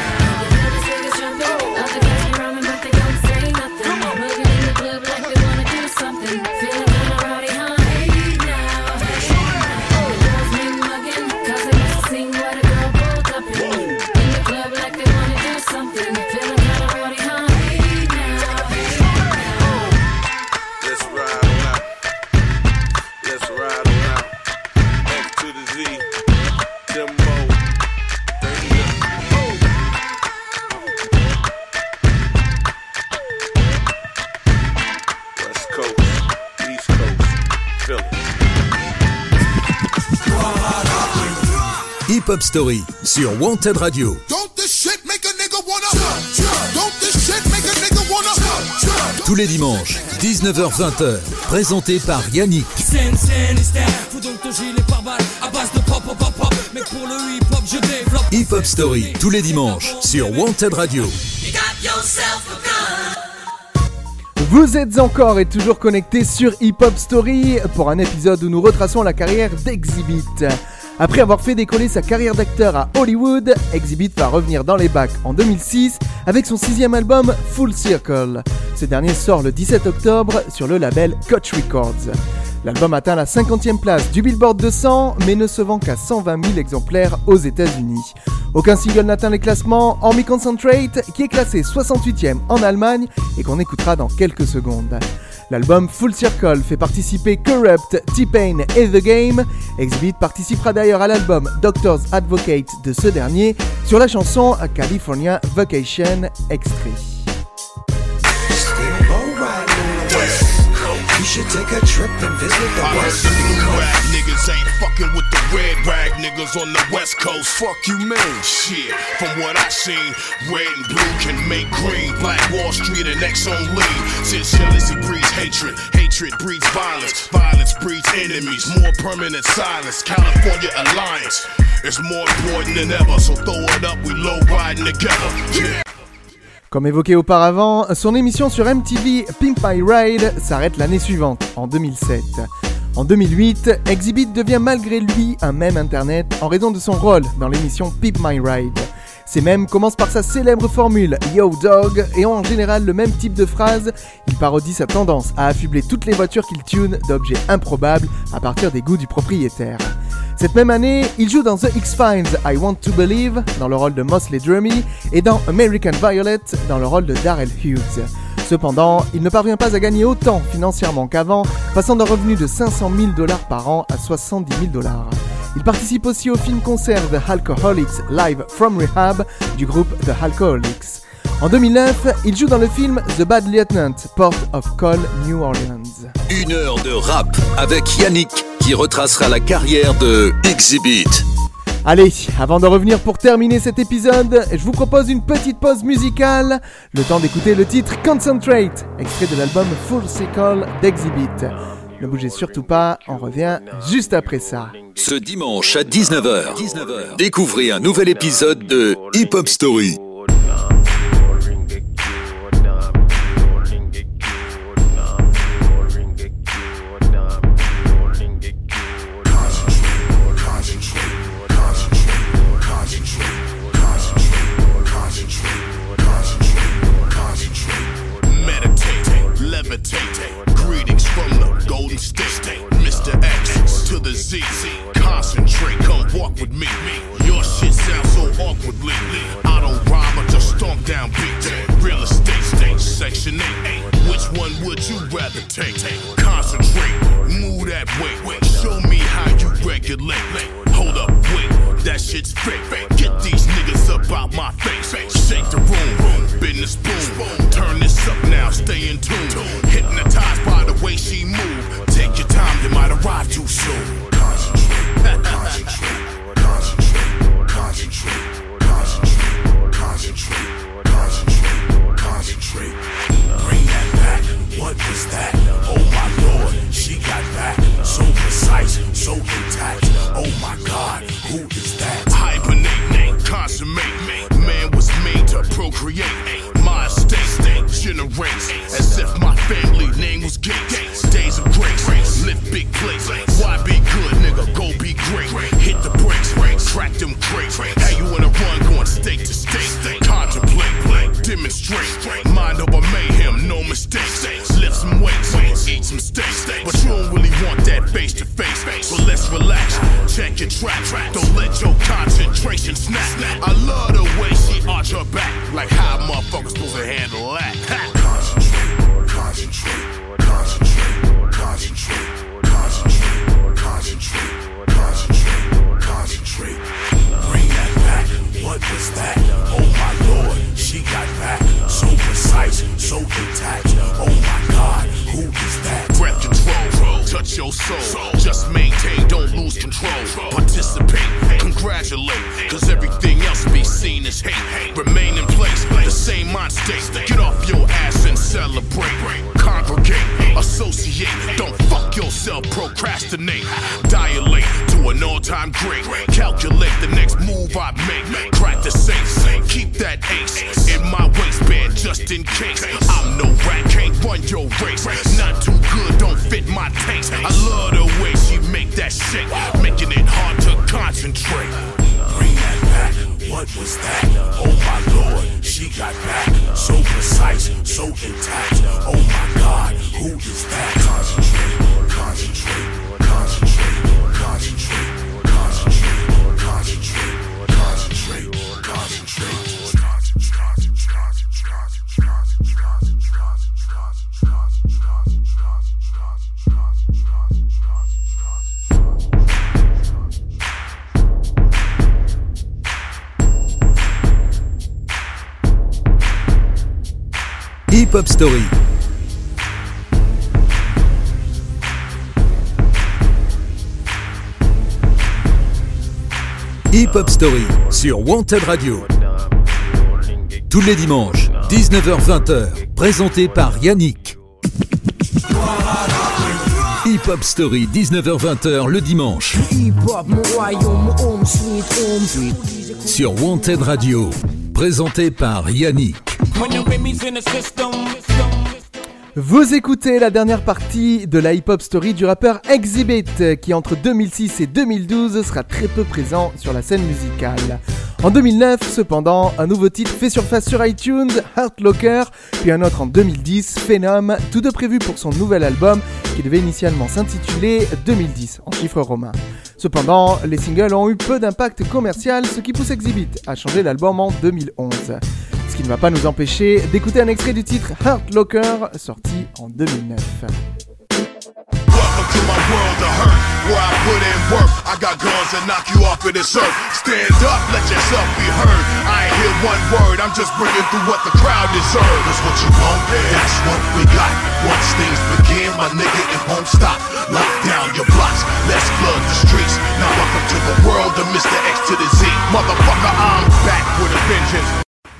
Let's ride on out. Let's ride on out. X to the Z. Timbo. West Coast, East Coast, Philly. Hip Hop Story sur Wanted Radio. Don't this shit make a nigga wanna Don't this shit make a nigga wanna Tous les dimanches, dix-neuf heures vingt, présenté par Yannick. Hip Hop Story, tous les dimanches, sur Wanted Radio. Vous êtes encore et toujours connectés sur Hip Hop Story pour un épisode où nous retraçons la carrière d'Exhibit. Après avoir fait décoller sa carrière d'acteur à Hollywood, Exhibit va revenir dans les bacs en deux mille six avec son sixième album Full Circle. Ce dernier sort le dix-sept octobre sur le label Koch Records. L'album atteint la cinquantième place du Billboard deux cents, mais ne se vend qu'à cent vingt mille exemplaires aux États-Unis. Aucun single n'atteint les classements, hormis Concentrate, qui est classé soixante-huitième en Allemagne et qu'on écoutera dans quelques secondes. L'album Full Circle fait participer Corrupt, T-Pain et The Game. Exhibit participera d'ailleurs à l'album Doctor's Advocate de ce dernier sur la chanson California Vacation extrait. ain't low riding on the West. You should take a trip and visit the I West heard the blue Coast. rag niggas ain't fucking with the red rag niggas on the West Coast. Fuck you, man. Shit, from what I seen, red and blue can make green. Black Wall Street and X on lean. Since jealousy breeds hatred, hatred breeds violence, violence breeds enemies. More permanent silence. California alliance is more important than ever. So throw it up, we low riding together. Yeah. Comme évoqué auparavant, son émission sur M T V Pimp My Ride s'arrête l'année suivante, en deux mille sept. En deux mille huit, Exhibit devient malgré lui un mème internet en raison de son rôle dans l'émission Pimp My Ride. Ces mèmes commencent par sa célèbre formule « Yo dog » et ont en général le même type de phrase. Il parodie sa tendance à affubler toutes les voitures qu'il tune d'objets improbables à partir des goûts du propriétaire. Cette même année, il joue dans The X-Files I Want to Believe dans le rôle de Mosley Drummy et dans American Violet dans le rôle de Darrell Hughes. Cependant, il ne parvient pas à gagner autant financièrement qu'avant, passant d'un revenu de cinq cent mille dollars par an à soixante-dix mille dollars. Il participe aussi au film-concert The Alcoholics Live from Rehab du groupe The Alcoholics. En deux mille neuf, il joue dans le film The Bad Lieutenant, Port of Call, New Orleans. Une heure de rap avec Yannick qui retracera la carrière de Exhibit. Allez, avant de revenir pour terminer cet épisode, je vous propose une petite pause musicale, le temps d'écouter le titre Concentrate, extrait de l'album Full Circle d'Exhibit. Ne bougez surtout pas, on revient juste après ça. Ce dimanche à dix-neuf heures, découvrez un nouvel épisode de Hip Hop Story. Greetings from the Golden State, Mister X to the Z. Concentrate, come walk with me. Your shit sounds so awkwardly. I don't rhyme, I just stomp down beat. Real estate state, section eight. Which one would you rather take? Concentrate, move that way. Show me how you regulate. Hold up, wait, that shit's fake. Get these niggas up out my face. Shake the room, business boom. Turn this up now, stay in tune. Hypnotized by the way she move. Take your time, you might arrive too soon. Concentrate, concentrate, concentrate, concentrate, concentrate, concentrate, concentrate, concentrate. Bring that back, what was that? Oh my lord, she got back. So precise, so intact. Oh my god, who is that? Hibernate, consummate, man was made to procreate. My estate generates as if my family name was Gates. Days of grace, lift big plates. Why be good, nigga? Go be great. Hit the brakes, crack them crates. How you wanna run, going state to state? Contemplate, demonstrate. Mind over mayhem, no mistakes. Lift some weights, eat some steaks. But you don't really want that face to face. So let's relax, check your track. Don't let your concentration snap. I love the way she arch her back. Like how motherfuckers supposed to handle that. Concentrate, concentrate, concentrate, concentrate, concentrate, concentrate, concentrate, concentrate. Bring that back, what was that? Oh my lord, she got back. So precise, so intact. Oh my god, who is that? Breath control, touch your soul. Just maintain, don't lose control. Participate, congratulate. Cause everything else be seen as hate. Remain in place, the same mind state. Get off your ass and celebrate. Congregate, associate. Don't fuck yourself, procrastinate. Dilate to an all-time great. Calculate the next move I make. Crack the safe, keep that ace in my waistband just in case. I'm no rat, can't run your race. Not too good, don't fit my taste. I love the way she make that shake, making it hard to concentrate. Bring that back, what was that? Oh my lord, she got back. So precise, so intact. Oh my god, who is that? Concentrate, concentrate, concentrate, concentrate, concentrate, concentrate, concentrate, concentrate. Hip Hop Story, Hip Hop Story sur Wanted Radio. Tous les dimanches, dix-neuf heures vingt, présenté par Yannick. Hip Hop Story, dix-neuf heures vingt le dimanche. Sur Wanted Radio, présenté par Yannick. Vous écoutez la dernière partie de la hip-hop story du rappeur Exhibit, qui entre deux mille six et deux mille douze sera très peu présent sur la scène musicale. En deux mille neuf, cependant, un nouveau titre fait surface sur iTunes, Hurt Locker, puis un autre en deux mille dix, Phenom, tous deux prévus pour son nouvel album qui devait initialement s'intituler deux mille dix en chiffres romains. Cependant, les singles ont eu peu d'impact commercial, ce qui pousse Exhibit à changer l'album en deux mille onze. Ce qui ne va pas nous empêcher d'écouter un extrait du titre Hurt Locker, sorti en deux mille neuf. Welcome to my world of hurt, where I put in work. I got guns that knock you off of this earth. Stand up, let yourself be heard. I ain't hear one word, I'm just bringing through what the crowd deserves. That's what you want, that's what we got. Once things begin, my nigga, it won't stop. Lock down your blocks, let's flood the streets. Now welcome to the world of Mister X to the Z. Motherfucker, I'm back with a vengeance.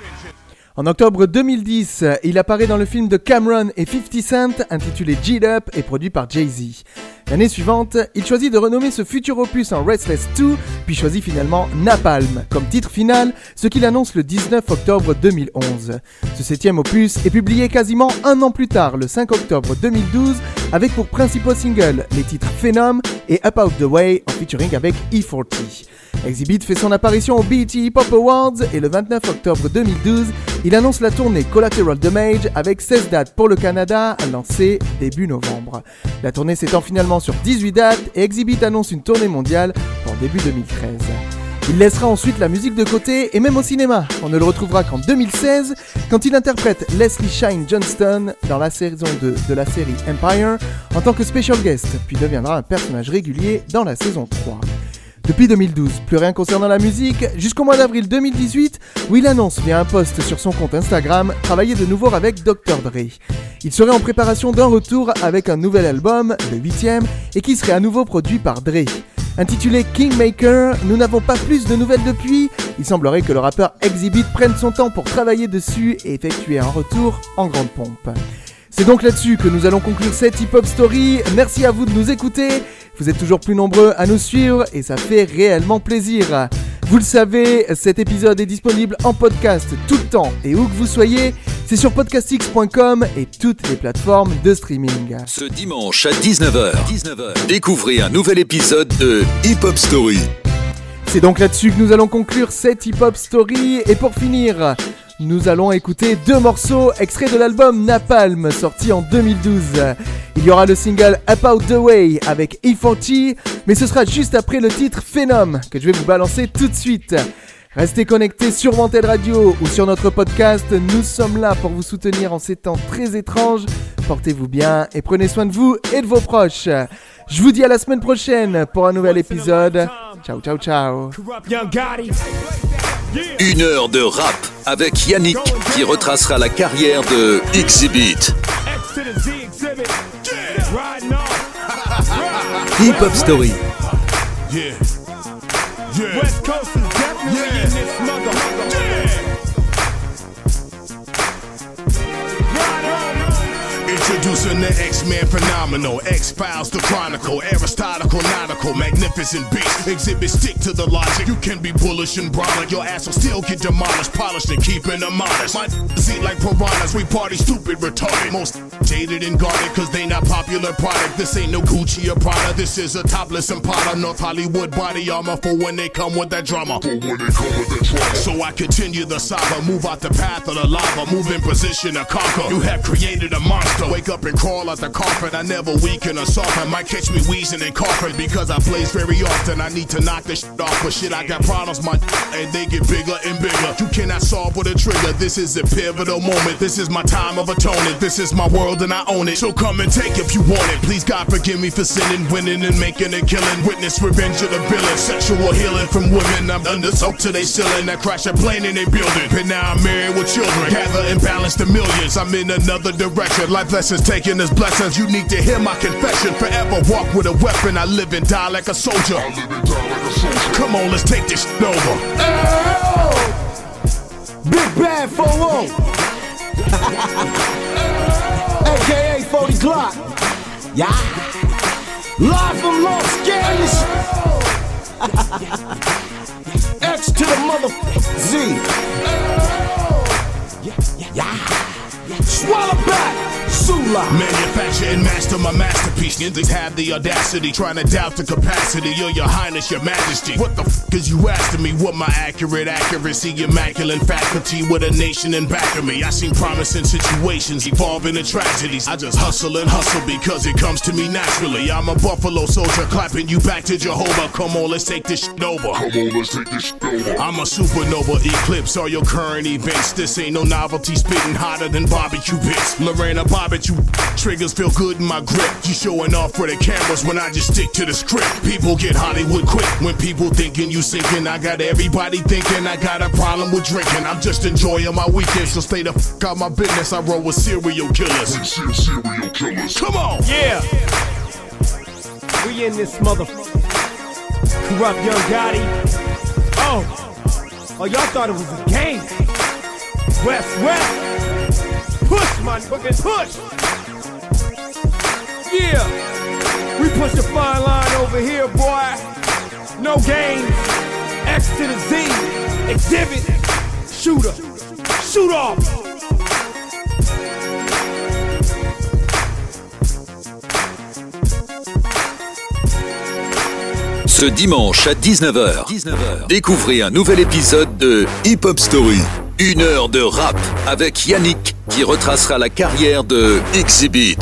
En octobre deux mille dix, il apparaît dans le film de Cameron et fifty Cent intitulé G'd Up et produit par Jay-Z. L'année suivante, il choisit de renommer ce futur opus en Restless deux, puis choisit finalement Napalm comme titre final, ce qu'il annonce le dix-neuf octobre deux mille onze. Ce septième opus est publié quasiment un an plus tard, le cinq octobre deux mille douze, avec pour principaux singles les titres Phenom et Up Out The Way en featuring avec E forty. Exhibit fait son apparition au B E T Hip Hop Awards et le vingt-neuf octobre deux mille douze, il annonce la tournée Collateral Damage avec seize dates pour le Canada, lancée début novembre. La tournée s'étend finalement sur dix-huit dates et Exhibit annonce une tournée mondiale pour début deux mille treize. Il laissera ensuite la musique de côté et même au cinéma. On ne le retrouvera qu'en deux mille seize quand il interprète Leslie Shine Johnston dans la saison deux de la série Empire en tant que special guest, puis deviendra un personnage régulier dans la saison trois. Depuis deux mille douze, plus rien concernant la musique, jusqu'au mois d'avril deux mille dix-huit, où il annonce via un post sur son compte Instagram travailler de nouveau avec docteur Dre. Il serait en préparation d'un retour avec un nouvel album, le huitième, et qui serait à nouveau produit par Dre. Intitulé Kingmaker, nous n'avons pas plus de nouvelles depuis. Il semblerait que le rappeur Exhibit prenne son temps pour travailler dessus et effectuer un retour en grande pompe. C'est donc là-dessus que nous allons conclure cette Hip Hop Story. Merci à vous de nous écouter. Vous êtes toujours plus nombreux à nous suivre et ça fait réellement plaisir. Vous le savez, cet épisode est disponible en podcast tout le temps et où que vous soyez. C'est sur podcastx point com et toutes les plateformes de streaming. Ce dimanche à dix-neuf heures, découvrez un nouvel épisode de Hip Hop Story. C'est donc là-dessus que nous allons conclure cette Hip Hop Story. Et pour finir, nous allons écouter deux morceaux extraits de l'album Napalm, sorti en deux mille douze. Il y aura le single Up Out The Way avec E forty, mais ce sera juste après le titre Phenom, que je vais vous balancer tout de suite. Restez connectés sur Wanted Radio ou sur notre podcast, nous sommes là pour vous soutenir en ces temps très étranges. Portez-vous bien et prenez soin de vous et de vos proches. Je vous dis à la semaine prochaine pour un nouvel épisode. Ciao, ciao, ciao. Une heure de rap avec Yannick qui retracera la carrière de Exhibit. Hip Hop Story. Yeah. Yeah. West Coast is definitely yeah. in this motherfucker. Yeah. Introducing the X-Men phenomenal, X-Files, the Chronicle, Aristotle, nautical, magnificent beast. Exhibit stick to the logic. You can be bullish and brolic. Your ass will still get demolished, polished and keeping them honest. My eat like piranhas, we party stupid, retarded. Most jaded and guarded, cause they not popular product. This ain't no Gucci or Prada. This is a topless Impala, North Hollywood body armor for when they come with that drama. For when they come with that drama. So I continue the saga, move out the path of the lava, move in position to conquer. You have created a monster. Wake up and crawl out the coffin. I never weaken or soften. Might catch me wheezing and coughing because I blaze very often. I need to knock this shit off, but shit, I got problems, my and they get bigger and bigger. You cannot solve with a trigger. This is a pivotal moment. This is my time of atonement. This is my world and I own it. So come and take if you want it. Please God forgive me for sinning, winning and making a killing. Witness revenge of the villain. Sexual healing from women. I'm under soak to they ceiling. I crash a plane in they building. But now I'm married with children. Gather and balance the millions. I'm in another direction. Life lessons taken as blessings. You need to hear my confession. Forever walk with a weapon. I live and die like a soldier. I live and die like a soldier. Come on, let's take this shit over. Big Bad Folo, A K A forty Glock. Yeah. Live from Los Angeles. X to the mother Z. Yeah. Swallow back. Sula. Manufacture and master my masterpiece. Niggas have the audacity, trying to doubt the capacity of your highness, your majesty. What the f is you asking me? What my accurate accuracy, immaculate faculty with a nation in back of me? I seen promising situations evolve into tragedies. I just hustle and hustle because it comes to me naturally. I'm a Buffalo soldier clapping you back to Jehovah. Come on, let's take this shit over. Come on, let's take this shit over. I'm a supernova eclipse all your current events. This ain't no novelty, spitting hotter than barbecue bits. Lorena Barbecue triggers feel good in my grip. You showing off for the cameras when I just stick to the script. People get Hollywood quick when people thinking you sinking. I got everybody thinking I got a problem with drinking. I'm just enjoying my weekend, so stay the f out my business. I roll with serial killers. Serial killers. Come on. Yeah. We in this motherfucker. Corrupt Young Gotti. Oh. Oh, y'all thought it was a game. West, West. Push, my fucking push. Yeah. We push a fine line over here, boy. No games. X to the Z. Exhibit. Shooter. Shoot off. Ce dimanche à dix-neuf heures, découvrez un nouvel épisode de Hip Hop Story. Une heure de rap avec Yannick qui retracera la carrière de Exhibit.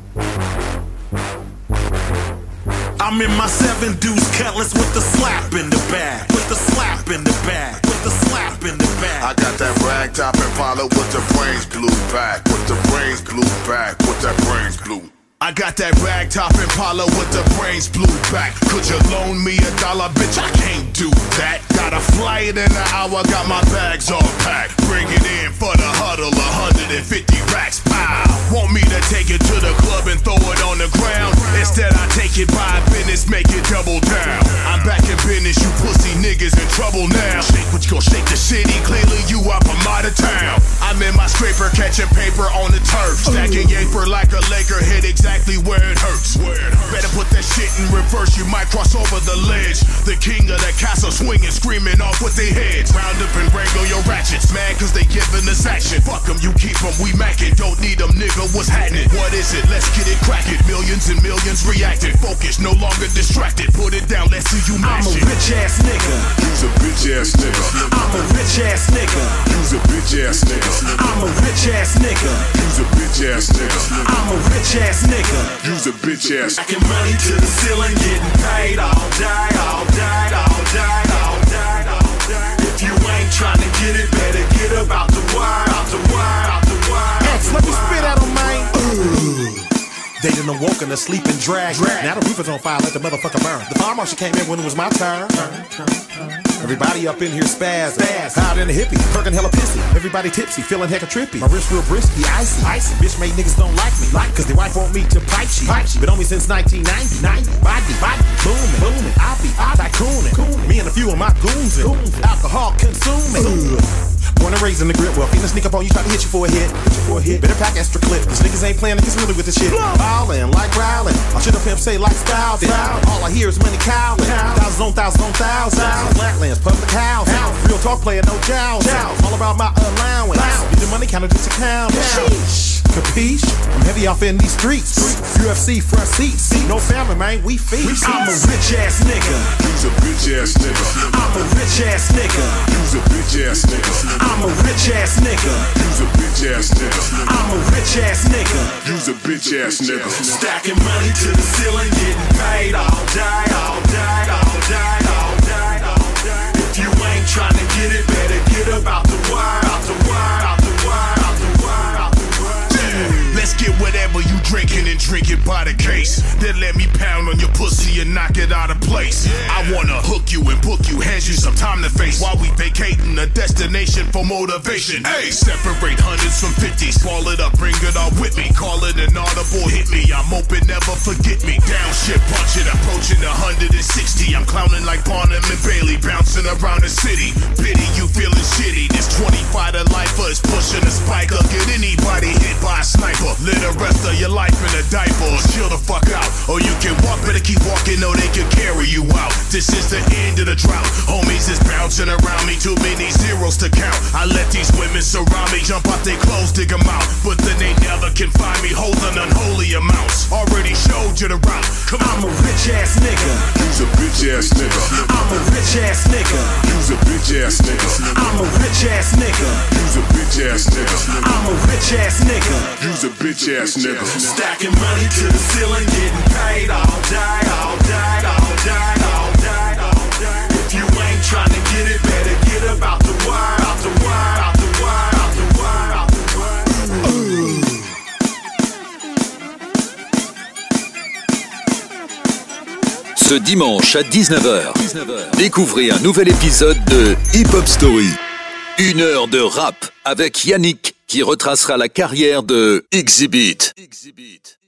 I'm in my seven deuce cutlass with the slap in the bag, with the slap in the bag, with the slap in the bag. I got that rag top and follow with the brains blue back, with the brains blue back, with that brains blue. I got that rag top Impala with the brains blue back. Could you loan me a dollar, bitch? I can't do that. Got a flight in an hour, got my bags all packed. Bring it in for the huddle, one hundred fifty racks, pow. Want me to take it to the club and throw it on the ground? Instead I take it by business, make it double down. I'm back in business, you pussy niggas in trouble now. Shake what you gon' shake the city, clearly you up, I'm out of town. I'm in my scraper, catching paper on the turf. Stacking yaper like a Laker, hit exactly where it hurts. Where it hurts. Better put that shit in reverse, you might cross over the ledge. The king of the castle swinging, screaming off with their heads. Round up and wrangle your ratchets, mad cause they giving us action. Fuck them, you keep them, we mackin'. Don't need them, nigga, what's happening? What is it? Let's get it crackin'. Millions and millions reacted. Focus, no longer distracted. Put it down, let's see you mash it. I'm a rich ass nigga. You's a bitch ass nigga. I'm a rich ass nigga. You's a bitch ass nigga. I'm a rich ass nigga. You's a bitch ass nigga. I'm a rich ass nigga. You's a bitch ass. Stacking money to the ceiling, getting paid all day, all day, all day, all day, all day. If you ain't trying to get it, better get about the wire, out the wire, out the wire. X, let me spit at him, man. They done awoken to sleep and drag. drag. Now the roof is on fire, let the motherfucker burn. The fire marshal came in when it was my turn. turn, turn, turn. Everybody up in here spaz, spaz. Hot in the hippie, perkin' hella pissy. Everybody tipsy, feeling hecka trippy. My wrist real brisky, icy, icy. Bitch made niggas don't like me, like cause their wife want me to pipe she, pipe she. But only since nineteen ninety, ninety. Body, body, booming, booming. I be, I tycooning. Me and a few of my goons and alcohol consuming. Ugh. Born and raised in the grip, well, finna sneak up on you, try to hit you for a hit, hit you for a hit. Better pack extra clip, cause niggas ain't playing, niggas really with the shit. Ballin' like growlin', I should have pimp say like style. All I hear is money cowlin', thousands on thousands on thousands. Flatlands, public house, real talk player, no jowls. All about my allowance, get the money counter just account. Capiche? I'm heavy off in these streets. U F C front seats. No family, man, we feast. I'm a rich ass nigga. You's a bitch ass nigga. I'm a rich ass nigga. You's a bitch ass nigga. I'm a rich ass nigga. You's a bitch ass nigga. I'm a rich ass nigga. You's a bitch ass nigga. Stacking money to the ceiling, getting paid all day, all day, all day, all day, all day. If you ain't trying to get it, better get about the wire, out the wire, out the wire, out the wire, out the wire. let's get whatever you drinking and drink it by the case. Then let me pound on your pussy and knock it out of place. I wanna hook you and book you, hand you some time to face while we vacating a destination for motivation. Hey, separate hundreds from fifties, ball it up, bring it all with me. Call it an audible, hit me. I'm open, never forget me. Down shit, punch it, approaching one hundred sixty. I'm clowning like Barnum and Bailey, bouncing around the city. Pity you feeling shitty. This twenty-five to lifer is pushing a spike up. Get anybody hit by a sniper. Live the rest of your life in a diaper or chill the fuck out. Or you can walk, better keep walking, or they can carry you out. This is the end of the drought. Homies is bouncing around me, too many zeros to count. I let these women surround me, jump out their clothes, dig them out. But then they never can find me holding unholy amounts. Already showed you the route. Come on. I'm a rich ass nigga. You's a bitch ass nigga. I'm a rich ass nigga. You's a bitch ass nigga. I'm a rich ass nigga. You's a bitch ass nigga. I'm a rich ass nigga. You's a bitch ass nigga. Stacking money to the ceiling, getting paid all day, all day, all day, all day, all day. If you ain't trying to get it, better get about the wire, out the wire, out the wire, out the wire, out the wire. Ce dimanche à dix-neuf heures, découvrez un nouvel épisode de Hip Hop Story. Une heure de rap avec Yannick qui retracera la carrière de Exhibit.